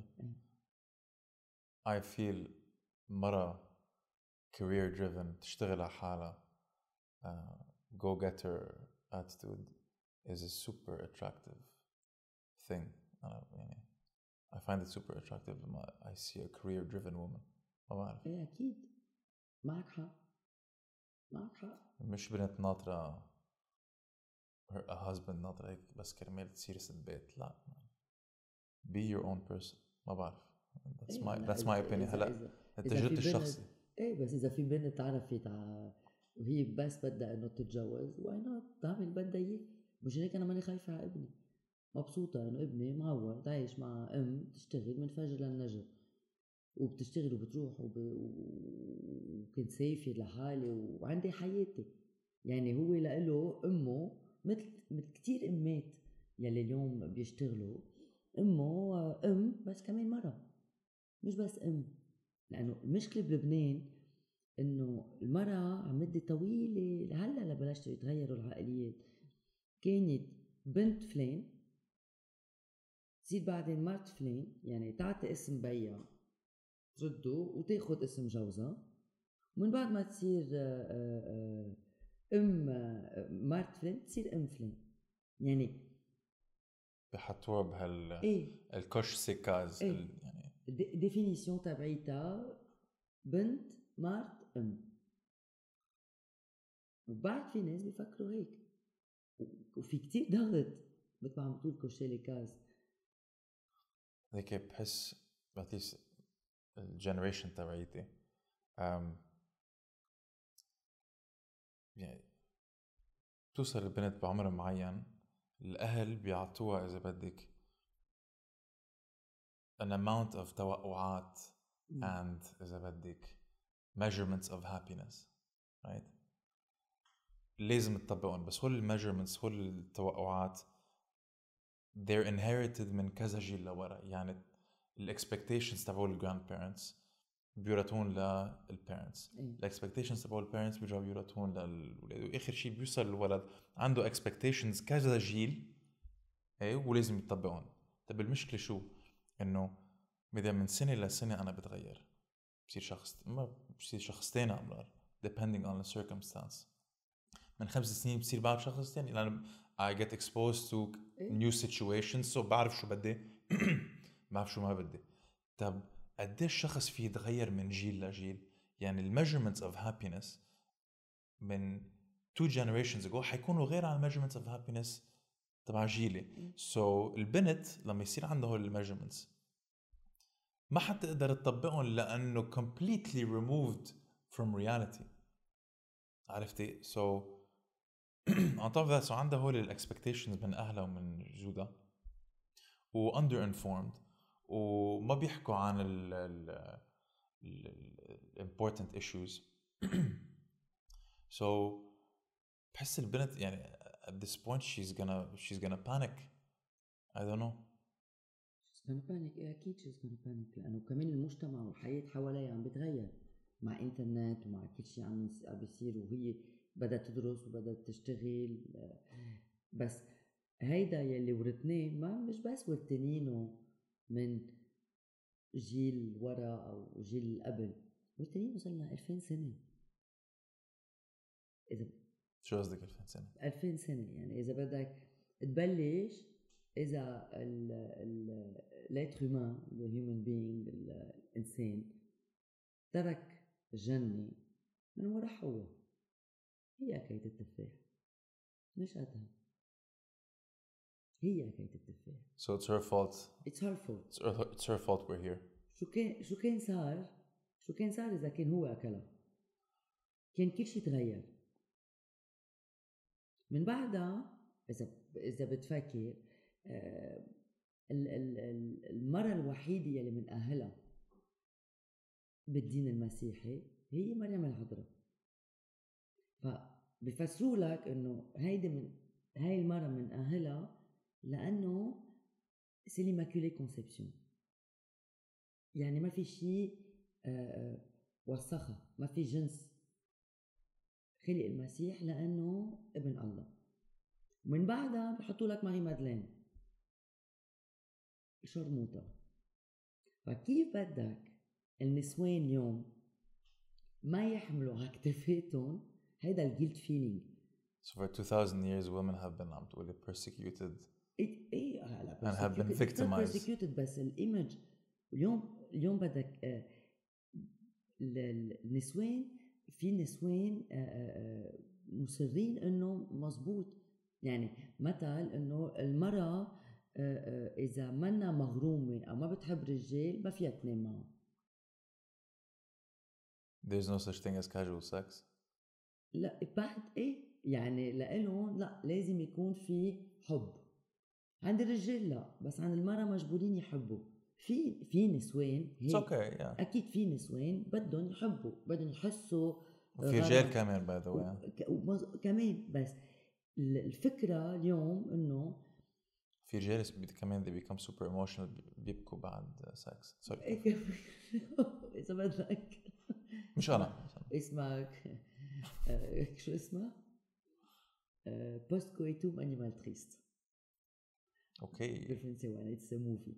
I feel مرأة career driven تشتغل على حالها uh, go getter attitude is a super attractive thing. أنا يعني I find it super attractive when I see a career driven woman. ما بعرف. إيه أكيد معك حق معك حق. مش بنت ناطرة her a husband ناطرة هيك بس كرمال تصير ست بيت. لا be your own person. ما بعرف. that's my إيه that's my opinion. هلا تجربتي الشخصي. إيه بس إذا في بنت عرفت ع... وهي بس بدها إنه تتجوز why not تعمل بدها إياه. مش هيك أنا ماني خايفة على ابني. مبسوطة إنه ابني معود عايش مع أم تشتغل من فجر للنجر وبتشتغل وبتروح وب... وكنت سيفي لحالي وعندي حياتي. يعني هو لإله أمه مثل مثل كتير أمات يلي اليوم بيشتغلوا. أمه أم بس كمان مرة مش بس أم. لأنه المشكلة بلبنان إنه المرأة عم مدة طويلة هلا لبلشتوا يتغيروا العقليات. كانت بنت فلان تصير بعدين مرت فلان يعني تعطي اسم بيها ترده وتاخد اسم جوزها. ومن بعد ما تصير ام مرت فلان تصير ام فلان. يعني بحطوها بهال ايه الكوش سيكاز. ايه ال... يعني ديفينيسيون تبعيتها بنت مرت ام. وبعد في ناس بيفكروا هيك وفي كتير ضغط مثل ما عم بتقول كوشي ليكاز. هيك بحس بحس الجنريشن تبعيتي um, يعني توصل البنت بعمر معين الأهل بيعطوها إذا بدك an amount of توقعات mm. and إذا بدك measurements of happiness right. لازم تطبقهم، بس هول الميجرمنتس هول التوقعات they're inherited من كذا جيل لورا. يعني الاكسبكتيشنز تبعول الجراند بيرنتس بيورثون للبيرنتس، الاكسبكتيشنز تبعول البيرنتس بيرجعوا بيورثون للولاد، واخر شيء بيوصل الولد عنده اكسبكتيشنز كذا جيل ايه ولازم يطبقهم. طب المشكله شو؟ انه بدأ من سنه لسنه انا بتغير، بصير شخص ما بصير شخص تاني عمرار depending on the circumstance. من خمس سنين بصير بعرف شخص تاني لأن I get exposed to new situations so بعرف شو بدي بعرف شو ما بدي. طب قديش شخص فيه يتغير من جيل لجيل؟ يعني ال measurements of happiness من two generations ago حيكونوا غير عن measurements of happiness تبع جيلي. so البنت لما يصير عندها هول measurements ما حتقدر تطبقهم لأنه completely removed from reality. عرفتي؟ so on top of that so عندها هول ال expectations من أهلها ومن جودها و under informed وما بيحكوا عن ال ال ال important issues. so بحس البنت يعني at this point she's gonna she's gonna panic. I don't know. she's gonna panic. أكيد she's gonna panic لأنه كمان المجتمع والحياة حواليها عم بتغير مع إنترنت ومع كل شيء عم بيصير، وهي بدأت تدرس وبدأت تشتغل. بس هيدا يلي ورثناه ما مش بس ورثنينه من جيل ورا أو جيل قبل، ورثنينه صرنا ألفين سنة. إذا شو قصدك ألفين سنة؟ ألفين سنة يعني إذا بدك تبلش إذا ال ال l'être humain the human being الإنسان ترك الجنة من وراء حواء، هي أكلت التفاح مش قدها، هي أكلت التفاح. so it's her fault. it's her fault. it's her, it's her fault we're here. شو كان شو كان صار شو كان صار إذا كان هو أكلها؟ كان كل شيء تغير من بعدها. إذا إذا بتفكر آه المرة الوحيدة يلي من أهلها بالدين المسيحي هي مريم العذراء. فبفسروا لك إنه هيدي من هاي المرة من أهلها لأنه c'est l'immaculée conception، يعني ما في شيء آه وسخها، ما في جنس خلق المسيح لأنه ابن الله. ومن بعدها بحطوا لك ماري مادلين شرموطة. فكيف بدك النسوان اليوم ما يحملوا على كتفاتهم هيدا الجيلت فيلينج؟ so for two thousand years women have been عم تقولي persecuted إيه إيه هلا and have been victimized. persecuted بس الإيمج اليوم اليوم بدك آه النسوان في نسوان آه آه مصرين إنه مزبوط. يعني مثل إنه المرأة إذا منا مغرومة أو ما بتحب رجال ما فيها تنام معه. There's no such thing as casual sex. لا بعد إيه يعني لإلهم لا لازم يكون في حب. عند الرجال لا، بس عند المرأة مجبورين يحبوا. في في نسوان It's okay, yeah. أكيد في نسوان بدهم يحبوا، بدهم يحسوا. في رجال كمان by the way. و... كمان بس الفكرة اليوم إنه في رجال كمان they become super emotional بيبكوا بعد سكس. سوري إذا بدك مش أنا اسمك شو اسمه post coitum animal triste. أوكي بالفرنسي it's a movie.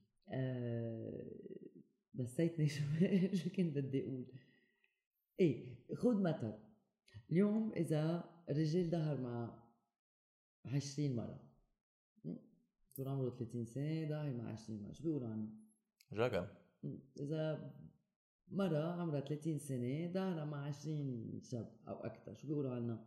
نسيتني شو شو كنت بدي أقول. إيه خد مثل اليوم إذا الرجال ظهر مع عشرين مرة صار عمره ثلاثين سنة ظاهر مع عشرين مرة شو بيقولوا عنه؟ جاكل. إذا مرة عمرها ثلاثين سنة ظاهرة مع عشرين شاب أو أكثر شو بيقولوا عنها؟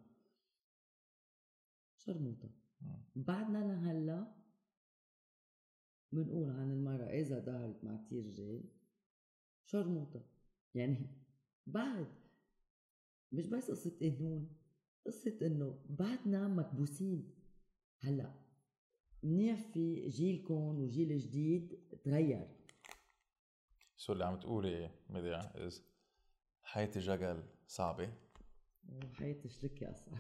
شرموطة. بعدنا لهلا بنقول عن المرأة إذا ظهرت مع كتير رجال شرموطة. يعني بعد مش بس قصة قانون، قصة إنه بعدنا مكبوسين. هلا منيح في جيلكم وجيل جديد تغير. شو اللي عم تقولي مديع إز حياة جاكل صعبة وحياة الشركة أصعب.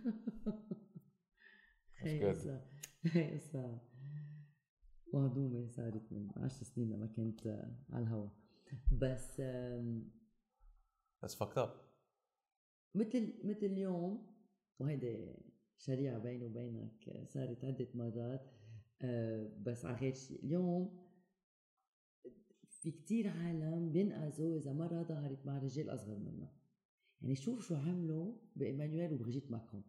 That's هي good. قصة هي قصة مهضومة صارت من عشر سنين لما كنت على الهوا. بس آم، That's fucked up. مثل مثل اليوم، وهيدا شريعة بيني وبينك صارت عدة مرات. آه، بس على غير شيء، اليوم في كتير عالم بينقذوا إذا مرة ظهرت مع رجال أصغر منها. يعني شوف شو عملوا بإيمانويل وبرجيت ماكرون.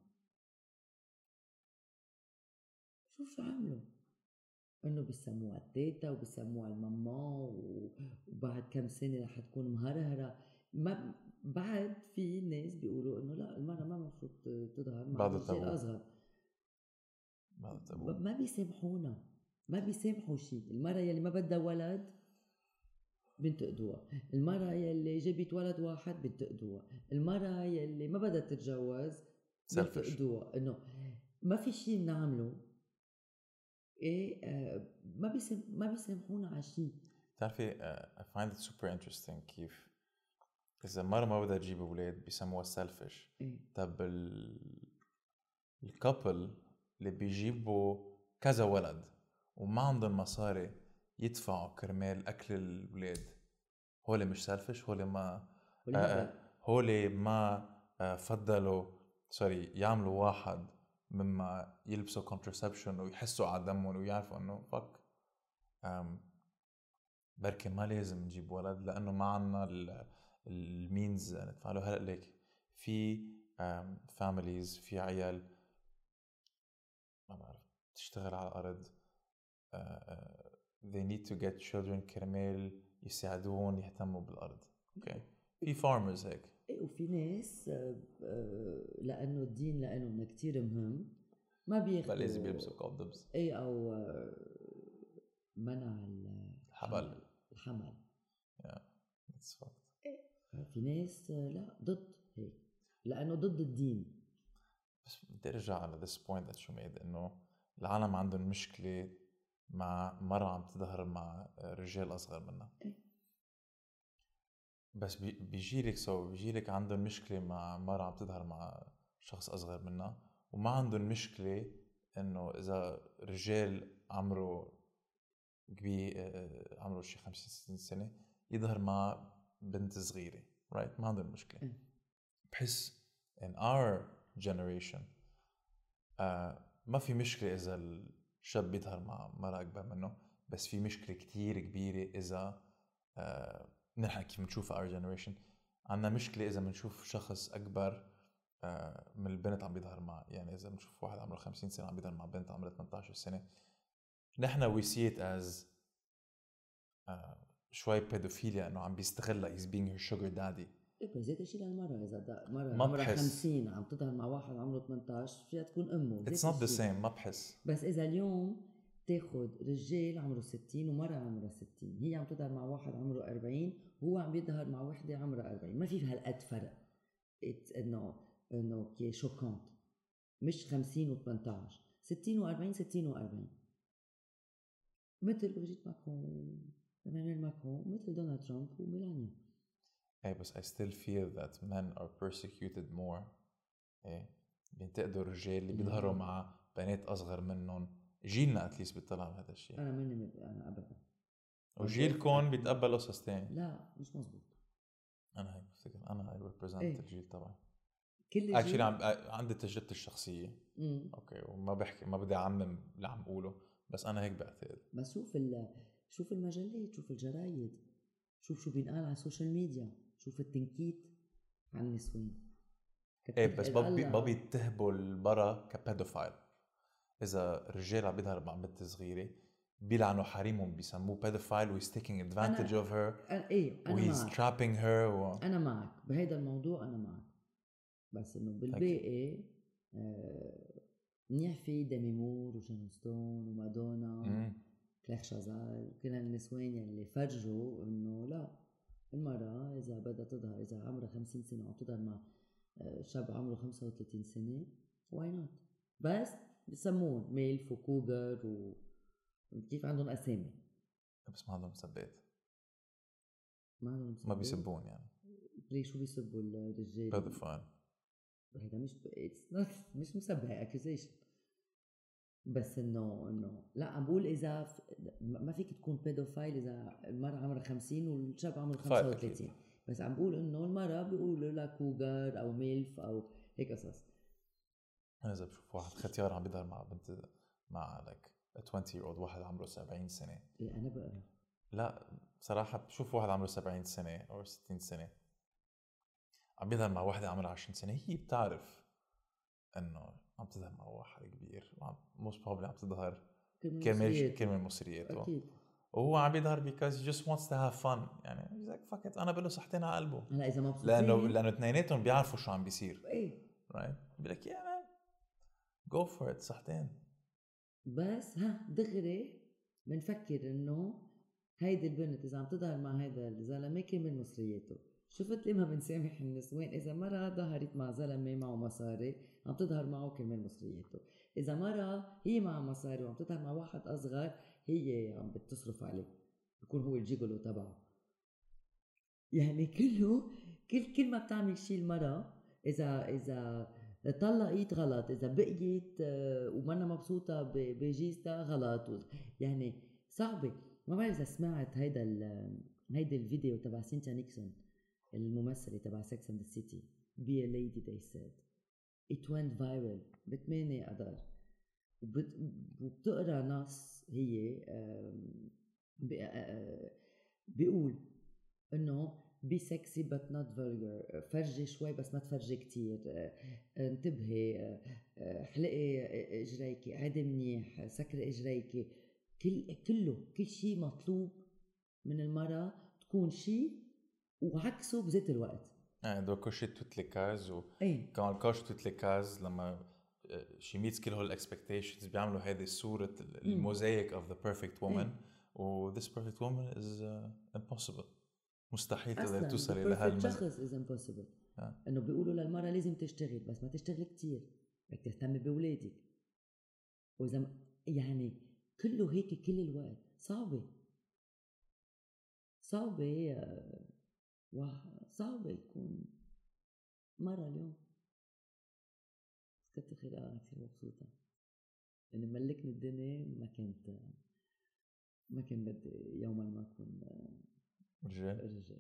شوف شو عملوا، إنه بيسموها التيتا وبيسموها الماما، وبعد كم سنة رح تكون مهرهرة. ما بعد في ناس بيقولوا إنه لا، المرأة ما مفروض تظهر مع بعد رجال التابو. أصغر. بعد التابو. ما بيسامحونا، ما بيسامحوا شيء. المرأة يلي ما بدها ولد بنتقدوها، المرأة يلي جابت ولد واحد بنتقدوها، المرأة يلي ما بدها تتجوز بنتقدوها. إنه ما في شيء بنعمله. إيه آه ما بيسم ما بيسامحونا على شيء. تعرفي uh, I find it super interesting كيف إذا مرة ما بدها تجيب أولاد بيسموها selfish. إيه؟ طب ال الكابل اللي بيجيبوا كذا ولد وما عندهم مصاري يدفعوا كرمال أكل الولاد، هولي مش selfish؟ هولي ما آه هولي ما آه فضلوا سوري يعملوا واحد مما يلبسوا contraception ويحسوا على دمهم ويعرفوا انه فك بركي ما لازم نجيب ولد لانه ما عنا المينز ندفع له. هلا ليك في فاميليز في عيال ما بعرف تشتغل على الارض uh, uh, they need to get children كرمال يساعدون يهتموا بالارض. اوكي okay. في farmers هيك. وفي ناس لانه الدين لانه كتير مهم ما بياخدوا لازم يلبسوا كوندومز. اي او منع الحمل الحمل. yeah that's fact. في ناس لا ضد هيك لانه ضد الدين. بس بدي ارجع على this point that you made انه العالم عندهم مشكله مع مرة عم تظهر مع رجال اصغر منها. بس بيجيلك سو بيجيلك عندهم مشكلة مع مرة عم تظهر مع شخص أصغر منها، وما عندهم مشكلة إنه إذا رجال عمره كبير عمره شي خمسين ستين سنة يظهر مع بنت صغيرة right؟ ما عندهم مشكلة. بحس in our generation uh, ما في مشكلة إذا الشاب بيظهر مع مرة أكبر منه، بس في مشكلة كتير كبيرة إذا uh, نحن كيف بنشوف our generation عنا مشكلة إذا بنشوف شخص أكبر من البنت عم بيظهر مع، يعني إذا بنشوف واحد عمره خمسين سنة عم بيظهر مع بنت عمرها ثمانية عشر سنة نحن we see it as شوي pedophilia إنه عم بيستغلها he's being her sugar daddy. إيه بس هذا شيء للمرة إذا مرة عمرها خمسين عم تظهر مع واحد عمره ثمانية عشر فيها تكون أمه. It's not the same. ما بحس. بس إذا اليوم تاخد رجال عمره ستين ومرة عمره ستين هي عم تظهر مع واحد عمره أربعين وهو عم يظهر مع وحدة عمرها أربعين ما في هالقد فرق. إنه إنه كي شوكانت مش خمسين وثمانية عشر ستين وأربعين ستين وأربعين مثل برجيت ماكرون إيمانويل ماكرون مثل دونالد ترامب وميلانيا. إيه بس I still feel that men are persecuted more. إيه بينتقدوا الرجال اللي بيظهروا مع بنات أصغر منهم. جيلنا أتليس بيطلع على هذا الشيء. أنا مني أنا أبدا. وجيلكم بيتقبل قصص تاني. لا مش مزبوط. أنا هيك بفتكر أنا I represent إيه؟ الجيل طبعا. كل جيل. عم عندي تجربتي الشخصية. مم. أوكي وما بحكي ما بدي أعمم اللي عم أقوله بس أنا هيك بعتقد. بس شوف شوف المجلات شوف الجرايد شوف شو بينقال على السوشيال ميديا شوف التنكيت عن النسوان. ايه بس ما بيتهبوا المرأة كبيدوفايل. إذا الرجال عم بيظهر مع بنت صغيرة بيلعنوا حريمهم بيسموه pedophile و he's taking advantage أنا of her أنا إيه أنا و he's معك. trapping her و... أنا معك بهيدا الموضوع أنا معك بس إنه بالباقي آه منيح في ديمي مور وشانون ستون ومادونا كلاير شازال كل النسوان اللي فرجوا إنه لا المرأة إذا بدها تظهر إذا عمرها خمسين سنة أو تظهر مع شاب عمره خمسة وثلاثين سنة why not. بس بسمون ميلف وكوغر و كيف عندهم أسامي بس ما عندهم مسبات ما عندهم مسبات ما بيسبون يعني ليش شو بيسبوا الرجال pedophile هذا مش it's not مش مسبة accusation، بس انه انه لا عم بقول اذا ف... ما فيك تكون بيدوفايل اذا المرأة عمرها خمسين والشاب عمره خمسة وثلاثين، بس عم بقول انه المرأة بيقولوا لها كوغر او ميلف او هيك قصص. انا اذا بشوف واحد ختيار عم بيظهر مع بنت مع like a twenty year old واحد عمره سبعين سنة، إيه انا بقرا لا بصراحة بشوف واحد عمره سبعين سنة او ستين سنة عم بيظهر مع واحدة عمرها عشرين سنة، هي بتعرف انه عم تظهر مع واحد كبير وعم most probably عم تظهر كرمال كرمال مصرياته اكيد، وهو عم بيظهر because he just wants to have fun. يعني he's like fuck it انا بقول له صحتين على قلبه. هلا اذا مبسوطين لانه لانه اثنيناتهم بيعرفوا شو عم بيصير ايه right بيقول لك yeah man go for it صحتين. بس ها دغري بنفكر انه هيدي البنت اذا عم تظهر مع هيدا الزلمه كرمال مصرياته. شفت ليه ما بنسامح النسوان؟ اذا مرة ظهرت مع زلمه معه مصاري عم تظهر معه كرمال مصريته، اذا مرة هي مع مصاري وعم تظهر مع واحد اصغر هي عم بتصرف عليه بيكون هو الجيجولو تبعه. يعني كله كل كل ما بتعمل شيء المرأة اذا اذا طلقت غلط، اذا بقيت ومنا مبسوطه بجيزتها غلط. يعني صعبه. ما بعرف اذا سمعت هيدا هيدا الفيديو تبع سينتيا نيكسون الممثله تبع سكس اند ذا سيتي be a lady they said it went viral بثمانية اذار، وبتقرا نص هي بيقول انه be sexy but not vulgar، فرجي شوي بس ما تفرجي كتير، انتبهي، حلقي اجريكي، عادي منيح، سكري اجريكي، كل كله كل شيء مطلوب من المرأة تكون شيء وعكسه بذات الوقت. يعني دو كوشي توت لي كاز و ايه كمان كوش توت لي كاز لما she meets كل هول expectations بيعملوا هذه الصورة الموزايك of the perfect woman و this perfect woman is uh, impossible، مستحيل تقدر توصل الى هالشخص is impossible. آه. انه بيقولوا للمرأة لازم تشتغل بس ما تشتغل كتير، بدك تهتمي بأولادك، واذا يعني كله هيك كل الوقت. صعبة صعبة صعبة يكون مرة اليوم. كنت خير أنا كثير مبسوطة يعني ملكني الدنيا، ما كنت ما كان بدي يوما ما أكون رجال رجال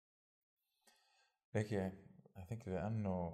هيك. I think لأنه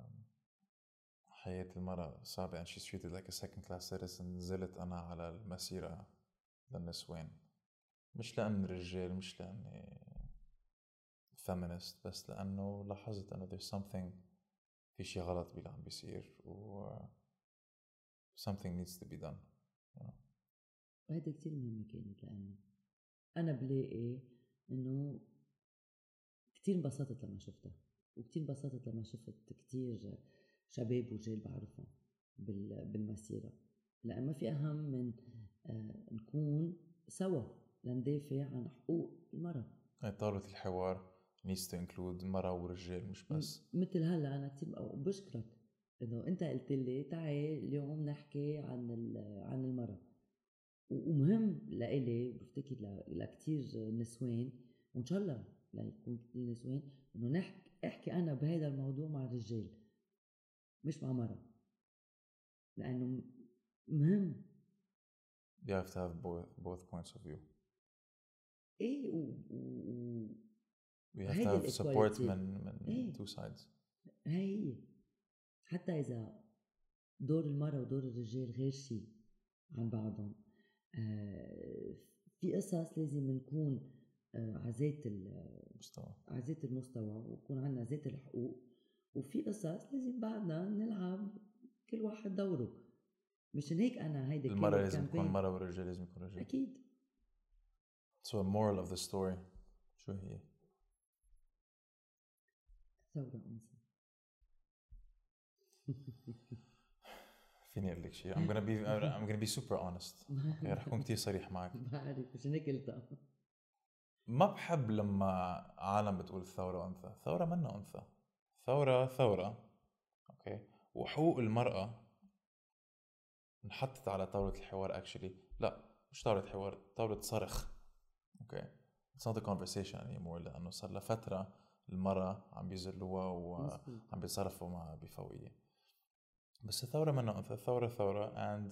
حياة المرأة صعبة and she's treated like a second class citizen. نزلت أنا على المسيرة للنسوان، مش لأن رجال، مش لأني feminist، بس لأنه لاحظت أنه there's something، في شيء غلط باللي عم بيصير و something needs to be done you know. وهذا كتير مهم كانت، لأنه أنا بلاقي إنه كتير انبسطت لما شفتها، وكتير انبسطت لما شفت كتير شباب ورجال بعرفهم بالمسيرة، لأن ما في أهم من آه نكون سوا لندافع عن حقوق المرأة. طاولة الحوار needs to include مرأة ورجال مش بس مثل هلا أنا كتير بشكرك إنه أنت قلت لي تعي اليوم نحكي عن عن المرأة، ومهم لإلي بفتكر لكتير نسوان، وإن شاء الله ليكون كتير نسوان إنه نحكي احكي أنا بهذا الموضوع مع الرجال مش مع مرأة، لأنه مهم. you have to have both, both points of view. إيه و, و... we have to have support من من إيه؟ two sides. هي حتى إذا دور المرأة ودور الرجال غير شيء عن بعضهم، آه في قصص لازم نكون آه عزات المستوى عزات المستوى ويكون عنا ذات الحقوق، وفي قصص لازم بعدنا نلعب كل واحد دوره. مشان هيك أنا هيدا المرأة لازم تكون مرأة والرجال لازم يكون رجال. أكيد. So the moral of the story شو هي؟ ثورة أنثى. فيني أقول لك شيء. I'm gonna be I'm gonna be super honest. okay, رح أكون كتير صريح معك. بعرف مشان هيك قلتها. ما بحب لما عالم بتقول ثورة أنثى. ثورة منا أنثى. ثورة ثورة. أوكي. وحقوق المرأة انحطت على طاولة الحوار actually. لا مش طاولة حوار، طاولة صرخ. أوكي. It's not a conversation anymore لأنه صار لفترة المرأة عم بيذلوها وعم بيتصرفوا معها بفوقية. بس الثورة منها أنثى، الثورة ثورة and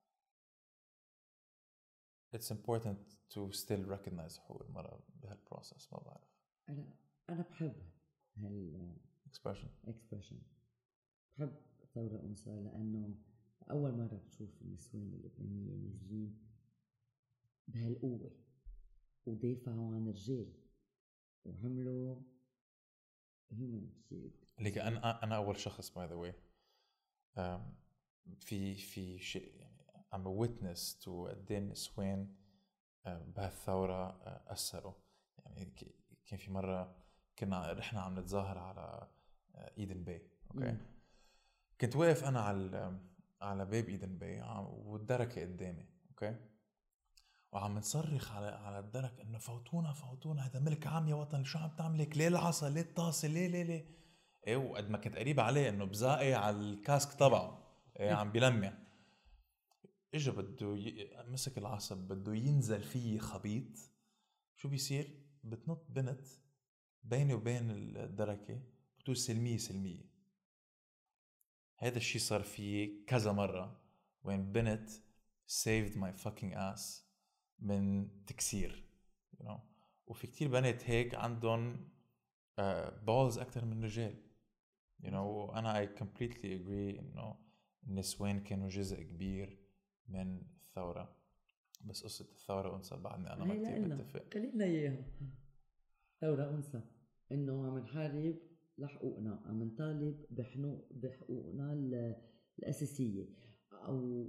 it's important to still recognize حقوق المرأة بهالبروسس. ما بعرف أنا أنا بحب هال expression expression بحب ثورة أنثى، لأنه أول مرة بتشوف النسوان اللبنانية نازلين بهالقوة ودافعوا عن الرجال وعملوا human shield. ليك أنا أنا أول شخص by the way um, في في شيء يعني I'm a witness to قد إيه النسوان uh, بهالثورة uh, أثروا. يعني كان في مرة كنا رحنا عم نتظاهر على إيدن باي. أوكي م. كنت واقف أنا على على باب إيدن باي والدركة قدامي. أوكي وعم نصرخ على على الدرك إنه فوتونا فوتونا، هذا ملك عام يا وطن، شو عم تعملك؟ ليه العصا؟ ليه الطاسة؟ ليه ليه ليه إيه؟ وقد ما كنت قريب عليه إنه بزاقي على الكاسك تبعه إيه عم بيلمع. إجا بده ي... مسك العصا بده ينزل فيه خبيط. شو بيصير؟ بتنط بنت بيني وبين الدركة بتقول سلمية سلمية. هذا الشيء صار فيه كذا مرة وين بنت saved my fucking ass من تكسير you know. وفي كتير بنات هيك عندهم uh, balls أكتر من رجال you know. أنا I completely agree إنه النسوان كانوا جزء كبير من الثورة. بس قصة الثورة أنثى بعدني أنا ما كتير بتفق. خلينا إياها ثورة أنثى إنه عم نحارب لحقوقنا، عم نطالب بحنو بحقوقنا الأساسية. أو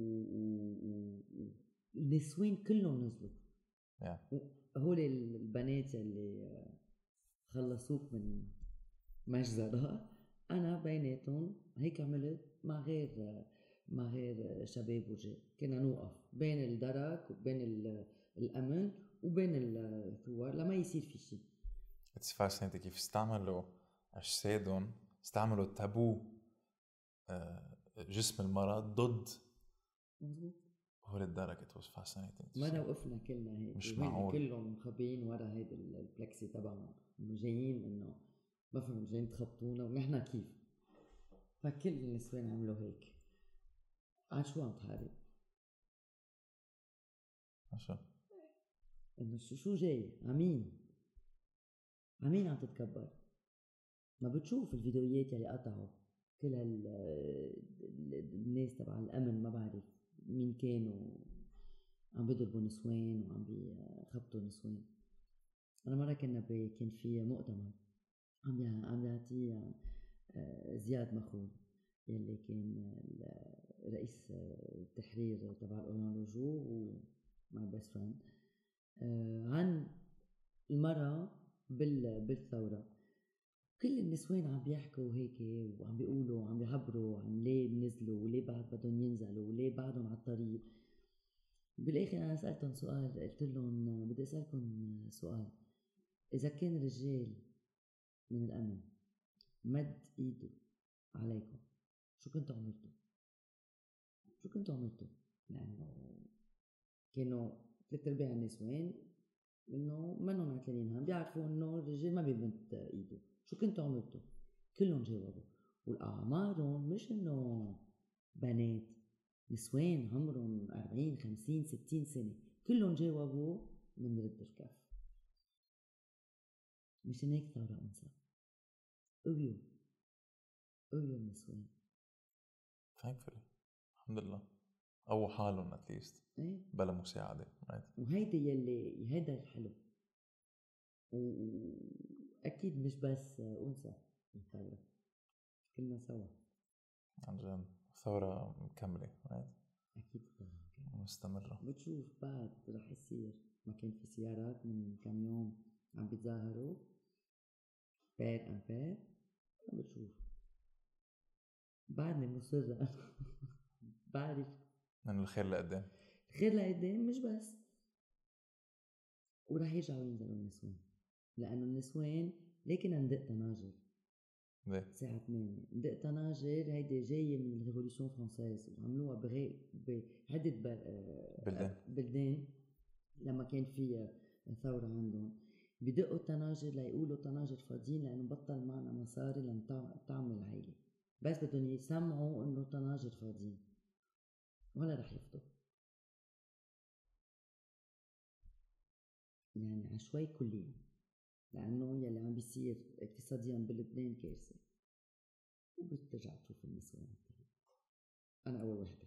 النسوين كلهم نزلوا yeah. هول البنات اللي خلصوك من مجزرة أنا بيناتهم هيك عملت مع غير مع غير شباب ورجال. كنا نوقف بين الدرك وبين الأمن وبين الثوار لما يصير في شيء. It's fascinating كيف استعملوا أجسادهم، استعملوا تابو جسم المرأة ضد هول الدرك. It was fascinating. ما وقفنا كلنا هيك مش معقول كلهم مخبيين ورا هيدا البلكسي تبعهم إنه جايين إنه ما فهم جايين تخبطونا ونحن كيف. فكل النسوان عملوا هيك. عن شو عم تحارب؟ عشان إنه شو شو جاي؟ عمين عمين عم تتكبر. ما بتشوف الفيديوهات يلي قطعوا كل هال الناس تبع الأمن ما بعرف مين كانوا عم بيضربوا نسوان وعم بيخبطوا نسوان. أنا مرة كنا كان في مؤتمر عم عم يعطي زياد مخول يلي كان رئيس التحرير تبع الأورانوجو ومع بيست فريند عن المرأة بالثورة. كل النسوان عم بيحكوا هيك وعم بيقولوا وعم بيعبروا عن ليه نزلوا وليه بعد بدهم ينزلوا وليه بعدهم على الطريق. بالاخر انا سالتهم سؤال، قلت لهم بدي اسالكم سؤال، اذا كان رجال من الامن مد ايده عليكم شو كنتوا عملتوا؟ شو كنتوا عملتوا؟ لانه كانوا ثلاث ارباع النسوان انه منهم عتلانين هم بيعرفوا انه الرجال ما بيمد ايده. شو كنتوا عملتوا؟ كلهم جاوبوا والاعمارهم مش انه بنات، نسوان عمرهم أربعين خمسين ستين سنة كلهم جاوبوا من رد الكف. مش هيك ثورة أنثى. قويوا قويوا النسوان thankfully الحمد لله أو حالهم at least ايه؟ بلا مساعدة right. وهيدا يلي هيدا الحلو. وأكيد مش بس أنثى الثورة، كلنا سوا عن جد ثورة مكملة right. أكيد مستمرة. بتشوف بعد رح يصير. ما كان في سيارات من كم يوم عم بيتظاهروا بير أم بير. بتشوف بعدني مصرة بعرف من الخير لقدام. الخير لقدام مش بس. ورح يرجعوا ينزلوا النسوان لأنه النسوان لكن ندق طناجر الساعة ثمانية. ندق طناجر هيدي جاية من الريفوليوشن فرنسيز وعملوها بغير بعدة بلدان. بلدان لما كان في ثورة عندهم بدقوا الطناجر ليقولوا طناجر فاضيين لأنه بطل معنا مصاري لنطعم العيلة، بس بدهم يسمعوا إنه طناجر فاضيين ولا رح يفضوا. يعني عشوائي كليا، لأنه يلي عم بيصير اقتصاديا بلبنان كارثة، وبترجع تشوف النسوان. أنا أول واحد